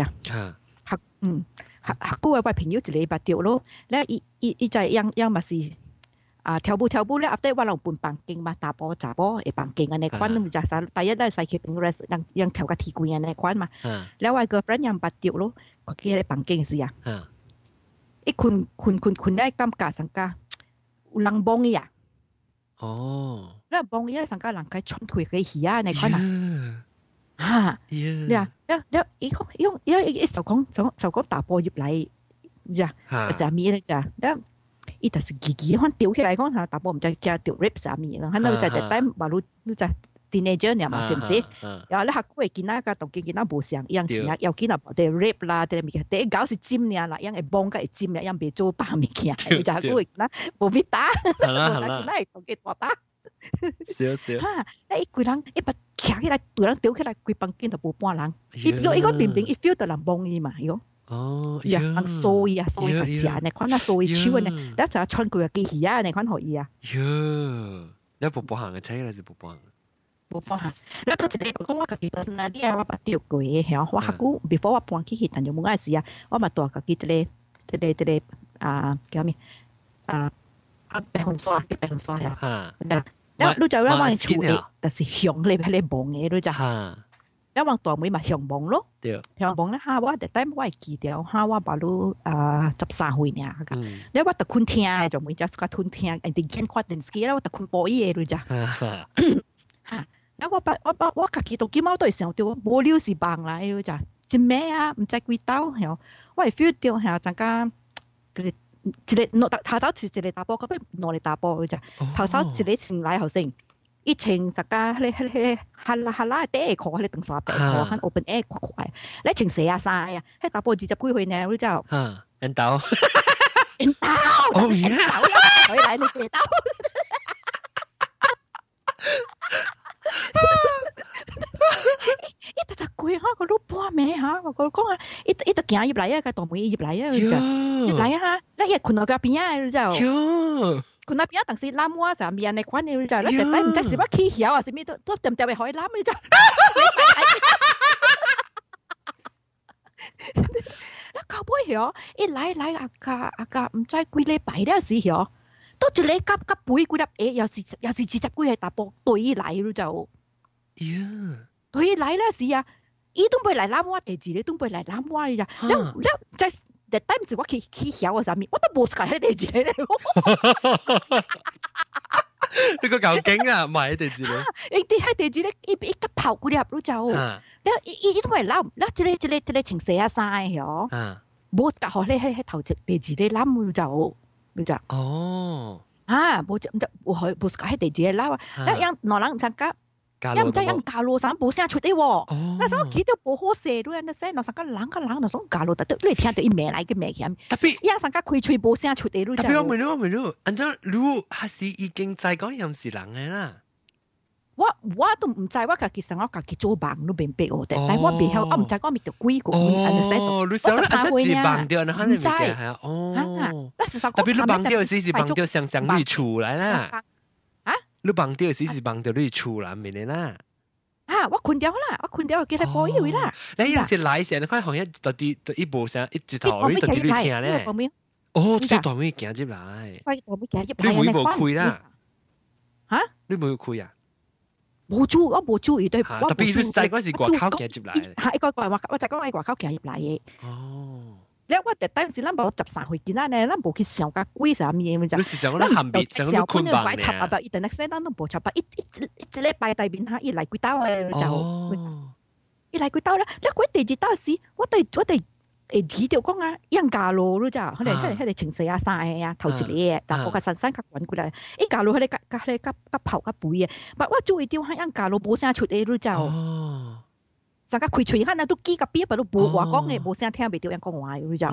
客個位朋友一禮拜掉咯，咧伊就樣咪是跳舞咧，after 我有半房間嘛，打波查波嘅房間呢款，就係第一咧細佢 rest 樣跳個鐵棍呢款嘛，แล้ว我個 friend 樣白掉咯。佢喺房間時啊，一群咧感覺上加有人幫伊啊，哦，咧幫伊咧上加人家穿佢嘅戲啊，你看嘛，你啊，一就講打波入嚟，呀，就咪咧就，伊就是自可掉起來講，打波唔就叫掉 rip 啥咪啦，可能就係等馬路就。teenager 呢嘛，係唔係？然後咧，客戶係見到個同見到無相，樣子啊，又見到啲 rape 啦，啲物件，第一搞是尖呢啦，樣係幫個係尖呢，樣別做白物件，就客戶係見無必打，無打見到係同佢打打。少。嚇！一個人一把徛起來，對人丟起來，規房間就無半人。伊個明明伊 feel 到人幫伊嘛，伊講。哦。呀，人掃伊啊，掃伊個隻呢，看下掃伊手呢，你就穿佢個機器啊，你看可以啊。 喲，你不行嘅，睇嚟就不行。 冇幫下，你嗰陣時講我自己本身啊，啲啊我把掉過嘅，係我客戶 before 我搬去去，但就冇嗰陣時啊，我咪度自己啲叫咩白紅刷啊，你就讓我處理，但是向你望嘅你就，因為大妹咪向望咯，向望咧嚇我，但係我係記掉嚇我把路13歲呢，你我特困聽就冇 just 個困聽，人哋見過電視機啦，我特困播嘢你就。我自己到幾貓都係想到無料是棒啦，就一咩啊，唔知幾刀，我係 feel 到係陣間一個頭頭是一個打波，咁樣兩個打波就頭頭一個前來後生， 伊穿啥个迄哈拉底裤，迄长衫底裤，迄 open air 快，你穿鞋啊衫啊，迄大波20几岁呢，你知道？ 引導， 引導， 哦呀， 回來你知道？伊特貴哈，個老婆咩哈？我講啊，伊特行入嚟啊，個大妹入嚟啊，入嚟啊，你一困到個邊啊，你知道？困到邊啊，但是攬我就面嚟款你知道？你特登唔知是乜起曉啊，是咩都點點嘅可以攬你知道？那搞不曉，一來阿家唔知幾禮拜了時曉，都一個夾背幾粒又是20幾個大波對來你知道？對來了時啊，伊都唔會嚟攬我，第二你都唔會嚟攬我你知？你在特登唔是我起曉啊啥物，我都冇解第二咧。 你個夠勁啊，唔係第二咧。 伊喺第二咧，伊夾泡幾粒你知道？伊都唔會攬，一個穿鞋啊衫曉。冇夾好咧，喺頭前第二咧攬你知？你知？ 哦。 冇喺第二咧攬啊！一樣兩人參加。一唔知人教路上冇聲出啲喎，那時候見到冇好射到人，那聲那上個人那種教路，特你聽到伊名嚟嘅名嘅，特別一上個開吹冇聲出啲，特別我問你，按照你還是已經在講又唔是人嘅啦。 我都唔知，我其實我自己做夢都明白我哋，但我未曉，我唔知我咪就鬼個， 你想按照你夢掉，你可能唔知係啊，特別你夢掉時是夢掉上你厝嚟啦。你夢到時是夢到你厝內面嘅啦。 我困掉記得播以為啦。 你有時來時，你看好像到啲一部上一直頭，你到啲你聽咧。哦，最大尾行入來。你會冇開啦？你冇開啊？ 我冇注意對。 特別你在嗰時外口行入來。 一個我就講喺外口行入來嘅。 哦。 你我特登是咱無13歲見仔呢，咱無去想甲鬼啥物嘢， 你是想咱含別，想咱困飽呢？ 插啊！伊等下先，咱都無插啊！一禮拜大面哈，伊來幾刀誒就，伊來幾刀咧？你講第二刀時，我哋記到講啊，樣架路咯咋？佢哋情緒啊晒啊，頭一個，但我個山較滾過來，伊架路佢哋甲頭甲背嘅，但我注意到樣架路冇聲出嚟咯咋？上個開喙喊啊，都記個邊，都冇話講嘅，冇聲聽未到人講話，你知道？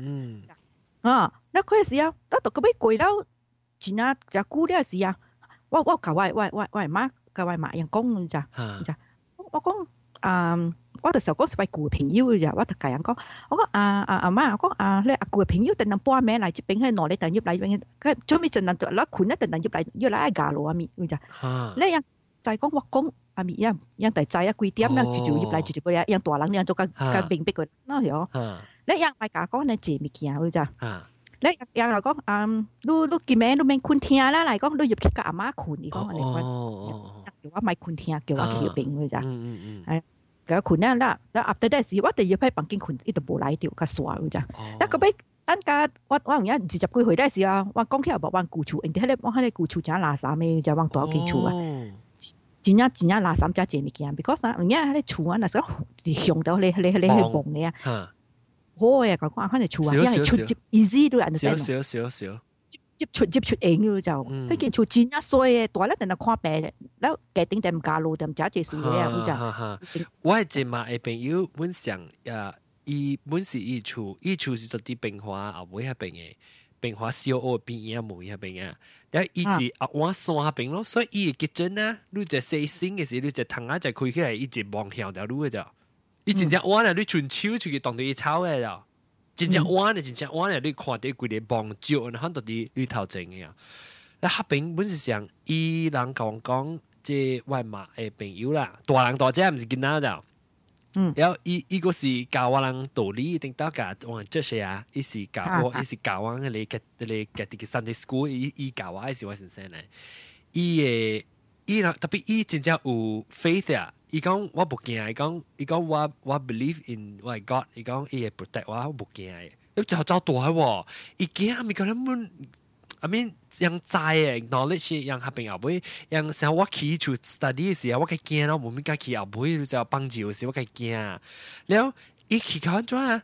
那嗰時啊，我到嗰尾過了，前啊就久了時啊，我教我媽人講，你知？我講我就時候講是位舊朋友嘅，我就教人講，我講阿媽，我講你阿舊朋友，等陣搬名嚟，這邊喺內裏等入嚟，佢做咩陣陣攞款咧？等陣入嚟嫁路啊咪，你知？你樣就係講我講。阿咪樣大仔啊，幾點啦？住入嚟住嗰樣大人樣做個明白佢，嗱係哦。你樣大家講你借物件，你知？你樣嚟講你見名你免困聽啦，嚟講你入去個阿媽困，你講你講，叫我咪困聽，叫我去病，你知？係，叫困啦，阿弟弟時我哋入去房間困，伊就冇來掉個鎖，你知？嗱個尾等家我而家20幾歲嗰時啊，我講起又冇往舊厝，人哋我喺舊厝正垃圾咩，就往大間厝啊。真正垃圾只借物件 ，because 而家喺厝啊，那時候用到你去碰嘅啊，好嘅講講喺厝啊，因為出接 easy 都人哋少， 接出應嘅就，嗰件厝真正衰嘅，大咧等下看病，แล้ว嘅頂定唔加路，定唔只借數嘅啊， 我係前嘛嘅朋友本上伊本是伊厝是到啲變化後尾喺邊嘅。變化小學邊嘢冇喺邊啊！然後伊是我山邊咯，所以伊嘅kitchen啊，你就細心嘅時，你就窗啊就開起來，伊就望向條路嘅就。伊真正彎啊，你伸手出去當到伊抄嘅就，真正彎啊，你看到規個望照，然後到啲綠頭前嘅啊。那下邊本是上伊人講，即外媽嘅朋友啦，大人大姐唔是囡仔就。然後伊個是教我人道理，定到教我這些啊，伊是教我你嘅啲 Sunday school， 伊教我係我先生咧。伊特別伊真正有 faith 啊！伊講我冇驚，伊講我 believe in 我 God， 伊講伊會 protect 我冇驚嘅。你就走大喎，伊驚咪講你們。I mean， 樣知嘅 knowledge， 樣下邊後尾，樣成我起做 study 嘅時候，我嘅驚咯，冇咩解起後尾就幫助嘅時候，我嘅驚。然後一起講咗啊，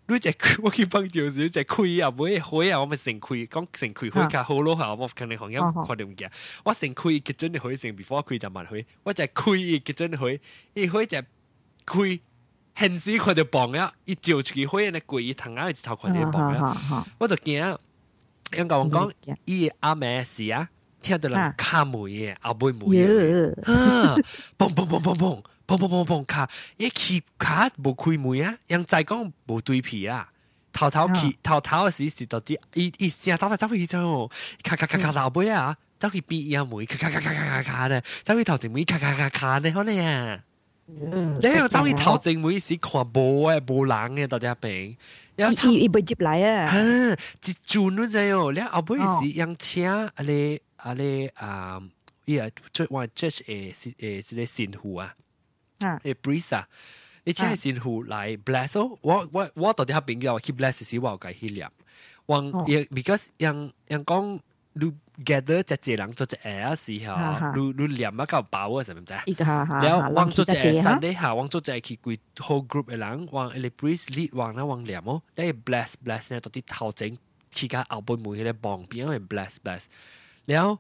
你只我去幫住時，只開啊，每開啊，我咪成開，講成開開較好咯嚇，我肯定行業看到唔見。我成開結準開成 before 開就慢開，我就開結準開，一開就開，現時看到磅啊，一照出去開咧貴，一頭啊一頭看到磅啊，我就驚，因為我講伊阿妹事啊，聽到人卡梅嘅，後背梅嘅，啊，嘣嘣嘣嘣嘣。砰砰砰砰卡，一氣卡無開門啊，人再講無對皮啊，頭嘅時到啲，一聲走去走，卡老尾啊，走去邊樣門，卡咧，走去頭前門，卡咧，可能啊，你又走去頭前門時看無人嘅到底邊， 伊袂接來啊， 一轉都知哦，你後尾時人車伊啊，我 judge 係個神父啊。priest 啊，你請係神父來 bless 哦，我到底喺邊個去 bless 時我有解去念，because 人講你 gather 只隻人做只嘢時候，你念一嚿飽啊，係咪啫？然後往做只神咧下，往做只去歸 whole group 嘅人，往你 priest lead 往啦往念哦，你 bless 咧到啲頭前去個後背門嘅旁邊去 bless，然後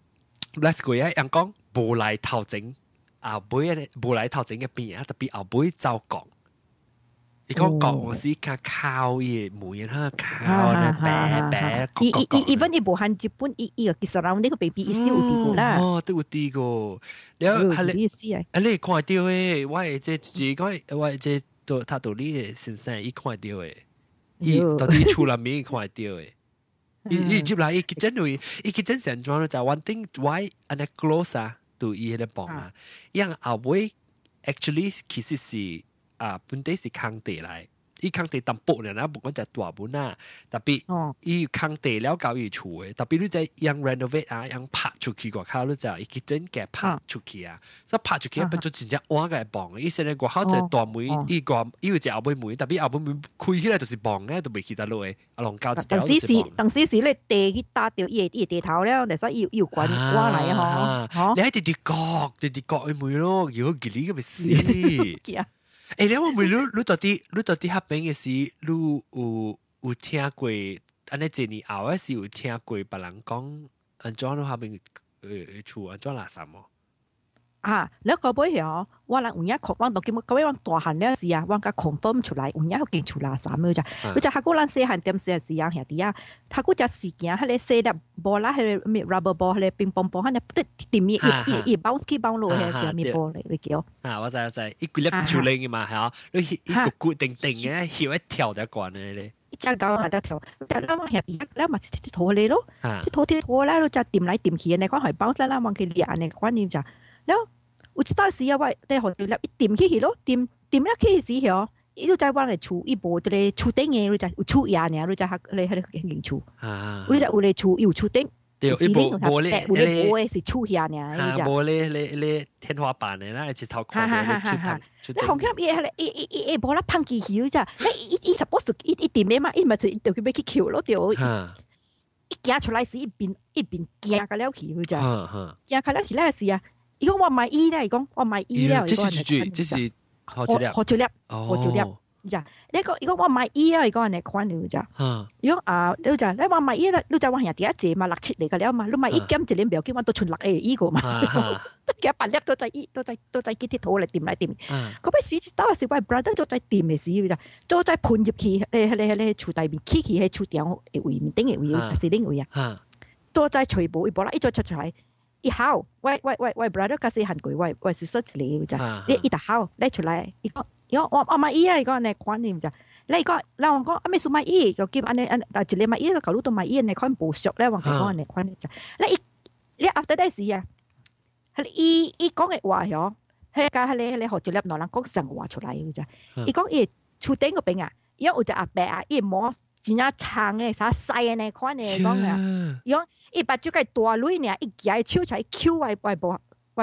bless 佢啊，人講無來頭前。後背咧，無來頭前嘅邊啊，特別後背走講，你講講我是靠伊梅啊，靠咧白 even 伊無限日本伊個其實呢個 baby 伊都有啲個啦， 哦，都有啲個，然後係你你看到誒，我係即係講，我係即係他到你嘅先生，伊看到誒，伊到底厝內面看到誒，伊接來伊真成裝就 one thing why and close 啊。對伊迄個磅啊，因後尾 actually 其實是本地是空地來，伊空地淡薄呢，不講就大本啊，特別伊空地了搞伊厝嘅，特別你在用 renovate 啊，用拍出去個口你就伊真嘅拍出去啊，所以拍出去變做真正碗嘅磅，伊現在個口就大梅，伊有隻後尾梅，特別後尾梅開起來就是磅嘅，都未記得落嘅，阿龍教一條就是磅。 當時你地去打掉伊地頭了，但係伊有關碗嚟啊， 你喺地角嘅梅咯，如果佢呢個咪死。誒，你話唔你到底黑邊嘅事，你有聽過？安尼一年後嘅時有聽過別人講，安怎喺黑邊厝安怎垃圾麼？ 啊，你個尾係我人有影確，我當今個尾我大漢了時啊，我甲 confirm 出來，有影有見出垃圾咩啫？你就下個人細漢點時時啊，兄弟啊，下個只時間，迄個細粒波啦，迄個咩 rubber ball，迄個乒乓波，迄個不得點嘢，一 bounce 起 bounce 落，迄個叫咩波嚟？你叫？啊， 我知，一個粒是球鈴嘅嘛，係啊，你一個固定嘅，跳一跳就慣嘅咧。 一隻狗喺度跳，但係我兄弟咧咪鐵拖你咯，鐵拖咧，你就掂嚟掂去，你講係 bounce 啦，忘記練你觀念就，แล้ว有一道時啊，我哋學掉一掂起去咯，掂一起時候，伊就在往嚟厝，伊無一個厝頂嘅，你就有厝野呢，你就喺你喺個間厝，你就有個厝有厝頂， 對，伊無咧， 無是厝下呢， 你就無咧天花板嘅啦，一頭看到你紅磡伊無啦碰起去啫，你伊 suppose 伊掂嘅嘛，伊咪就叫佢去撬咯，就一行出來時一邊行個了去，佢就行個了去咧時啊。伊講我買衣咧，伊講我買衣咧， 這是何照粒，呀！你講伊講我買衣啊，伊講人哋款了咋？伊講你就你話買衣啦，你就話人哋一隻嘛，6、7嚟個了嘛，你買衣減一年表，叫我都存6個衣個嘛，幾8粒都在幾鐵土嚟掂嚟掂。嗰邊時到時我 brother 都在掂嘅時咋，都在盤入去，你厝大面起喺厝頂嘅位面頂嘅位，是頂位啊，都在全部一波啦，一再出嚟。一考，喂 brother 嗰時韓國喂是失禮咋？你一打考，你出來，伊講我買衣啊，伊講你觀念咋？你講我講阿咩數買衣，就叫安尼但係你買衣個舊佬都買衣，你看無熟咧，我講你觀念咋？你 after that 時啊，係伊講嘅話嗬，係家係你學住粒內人講神話出來咋？伊講伊厝頂嗰邊啊，因為有隻阿伯啊，伊摸真啊長嘅，啥細嘅呢款嘅講啊，伊講。伊把隻個大女呢，一舉手出來 Q 外部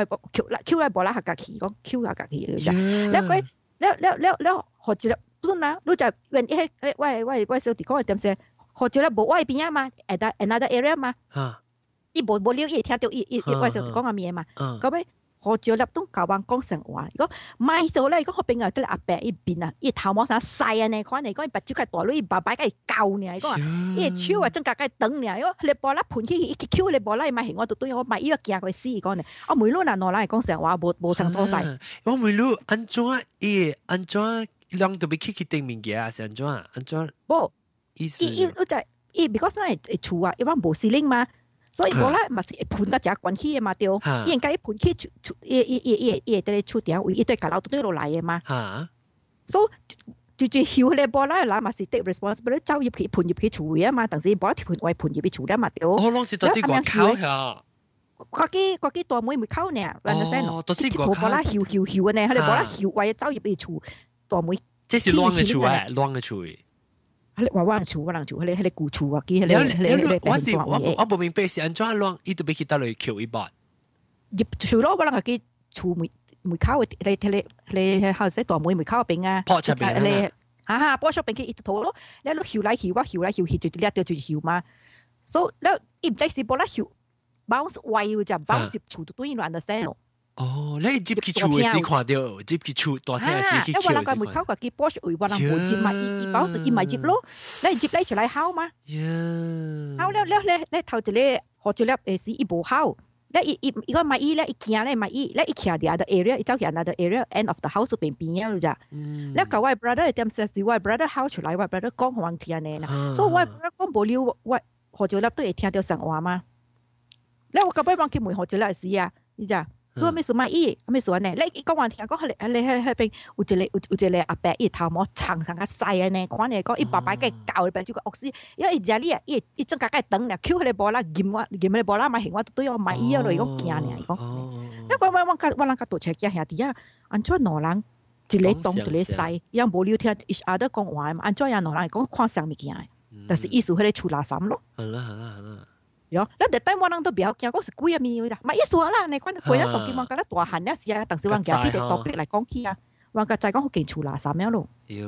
Q 來部啦，下架起講 Q 下架起嘅啫。你學住啦，本來你就原一喂小弟講係點先？學住啦，無外邊啊嘛 ，another area 嘛。伊無了，伊聽到伊喂小弟講嘅咩嘛？咁樣何朝立都教人講成話，如果買咗咧，如果我邊個得阿伯一邊啊，伊頭毛啥細啊呢款嚟講，把手個大女爸爸個教呢，講啊，伊手啊真個個等呢，如果你波啦盤起一揪你波啦，買型我都對我買伊個驚佢死講呢，我每路嗱攞嚟講成話無成多曬， 我每路安怎安怎兩都被去定物件啊，是安怎安怎？ 無， 意思 because 那係厝啊，因為無司令嘛。所以無啦，嘛是盤得只關起嘅嘛，對。伊應該盤起伊得咧厝條位，伊對家老對落來嘅嘛。所以就曉咧無啦，嘛是 take responsibility 走入去盤入去厝位啊嘛，但是無啦條盤位盤入去厝咧嘛，對。 我當時到底外口呀？ 嗰啲大妹妹口呢哦，都是外口。 無啦曉嘅呢，佢哋無啦曉位走入去厝大妹。 這是亂嘅厝誒，亂嘅厝誒。 我人厝，迄個舊厝啊， 我無明白是安怎亂，伊都要去倒來扣一筆。 入厝咯，我人個厝門口你後生大妹門口邊啊， 破出邊啊，破出邊去一頭咯，你攞搖來搖去，就掠到就搖嘛。所以แล้ว伊唔知是波啦搖 bounce 位就 bounce 入厝都對亂得聲咯。 哦，你入去厝嘅時看到，入去厝大廳嘅時去因為人個門口個機波位，我人冇接嘛，伊 bounce 伊咪接咯，你接你出來敲嘛。敲了你頭一個何一粒誒時伊無敲，你如果咪伊咧，伊驚咧咪伊徛喺 other area， 伊走去 another area end of the house 邊邊啊咋。你個我 brother 點寫是我 brother 敲出來，我 brother 講互人聽呢啦，所以我 brother 講無了，我何一粒都會聽到神話嘛。你我個尾幫佢問何一粒時啊，你知？佢咩事買伊，咩事呢？你講話聽講你邊有一個阿伯伊頭毛長長個細呢，看你講伊爸爸嘅教邊就個惡死，因為伊只呢伊真個個等呢，Q 佢哋波啦，劍你波啦買型我對我買伊啊嚟講驚呢，講，因為我人個杜車驚兄弟啊，安怎兩人一個東一個西，又無聊聽 each other 講話嘛，安怎樣兩人講看上物件嘅，但是意思佢哋出垃圾咯。 好啦。 有，你第我人都不要驚，嗰是貴啊咪啦，咪一說啦，你講貴啊，當今我覺得大漢一時啊，但是我講啲嘅特別嚟講起啊，我個就係講好勁出垃圾樣咯。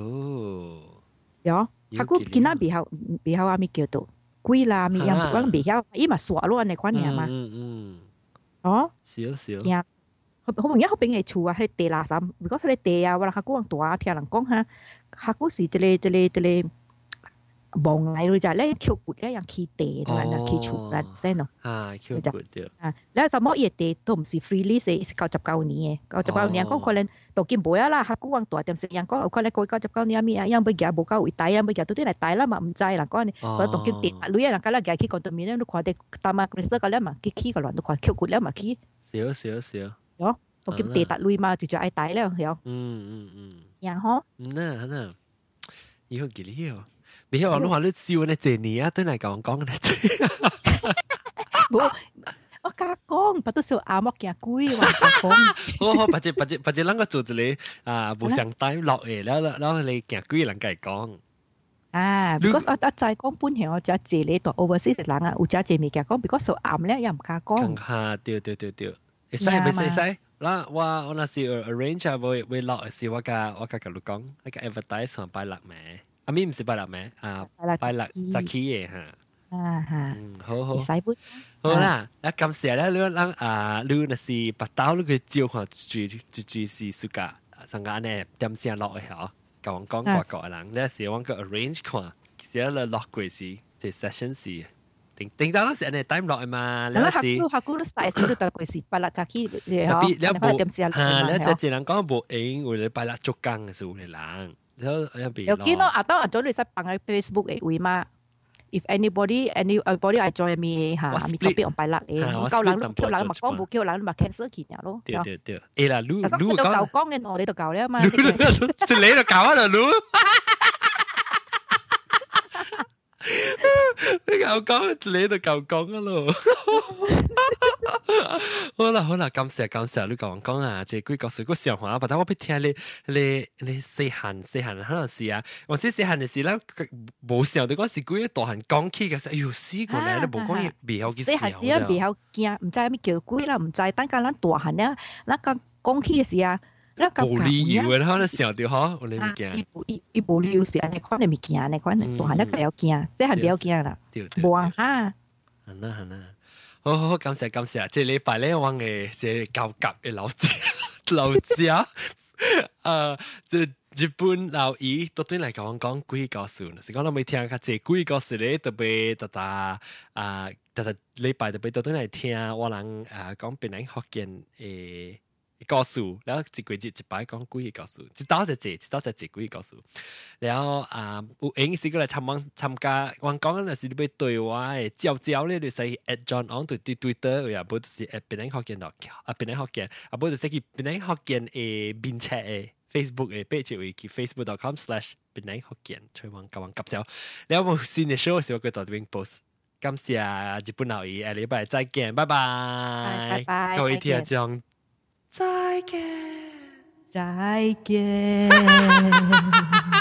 有，佢估見啦，別後阿咪叫做貴啦，咪樣我別曉，伊咪傻咯，你講嘢嘛。哦， 少。 驚，好容易好邊嘅厝啊，係地垃圾，如果係地啊，我佢估人大聽人講下，佢估是一個。望嚟咯，就係咧橋骨咧，人起地同埋人起厝啦，先咯。 橋骨對。 แล้ว就乜嘢地都唔是 freely 是99年嘅，99年講可能到見冇啊啦，客觀往大點成人講，可能過99年咩啊，因為佢冇夠會大啊，咪日都啲嚟大啦嘛，唔制啦講你，佢到見地，女人家啦，佢起講到面咧，都看啲，但係佢識個咧嘛，起個亂都看橋骨咧嘛起。 少。 有，到見地大女嘛，就愛大咧，有。然後。 嗱，以後幾年哦。你喺網絡你笑呢這年啊，都嚟講嘅冇，我家講，不都笑阿莫驚鬼話講。 好，或者啷個做一個無相帶落嚟，แล้ว你驚鬼人家講。 because 我就係講本嚟我就借你到 overseas 人啊，有只借物件講 because so暗咧又唔敢講。 對，會使。嗱，我那時 arrange 啊，會落時我甲你講，我甲 advertise 上擺落咩？阿咪唔是拜六咩？拜六早起嘅嚇。好。好啦，那感謝咧，你你那是白刀，你去照看就是暑假，上間呢點先落去嗬？講個人，你是揾個 arrange 看，其實你落過時，即 session 時，定到嗰時你 time 落去嘛？你是下個都大時都到過時，拜六早起你嗬， 你冇點先落去嘛？ 你只人講冇應，為你拜六做工嘅時候嚟人。 有見到當早你識放喺 Facebook 嘅位嘛 ？If anybody I join me 嚇，咪特別on 拜六嘅，我夠人咪講冇叫人咪 cancel 佢呀咯。 對。誒啦，你都夠講嘅，我哋都夠啦嘛。 你都夠啊啦，你。你講，你都夠講啊咯。好啦，感謝你講啊，這幾個水果笑話，但我不聽你細漢可能是啊，我細漢嘅時咧冇想到嗰時幾大漢講起嘅時，哎呦死過嚟，你冇講嘢未好嘅時候。細漢時啊未好驚，唔知咩叫鬼啦，唔知等間咱大漢咧，咱個講起嘅時啊，咱個冇理由嘅，可能想到嗬，我哋唔驚。 伊冇理由是安尼款你咪驚，你款大漢咧比較驚，細漢比較驚啦，冇啊嚇。 係啦。 好，感謝感謝。這禮拜咧，我嘅這高級嘅老家，這日本老姨都對嚟講鬼故事，是講我未聽過這鬼故事咧，特別特禮拜特別都對嚟聽我人講別人福建誒故事，然後一季節一擺講鬼故事，一刀就一鬼故事，然後有影時過來參加，我講嗰陣時你要對我誒招咧，你使 at John on 對 Twitter， 又不就是 at 別人福建度，別人福建，啊不就是去別人福建誒面冊誒 Facebook 誒 page 會去 facebook.com/別人福建，隨往甲紹，然後有新嘅 show 時候佢度邊 post，感謝日本老姨，下禮拜再見，拜拜，各位聽眾。再見， 再見。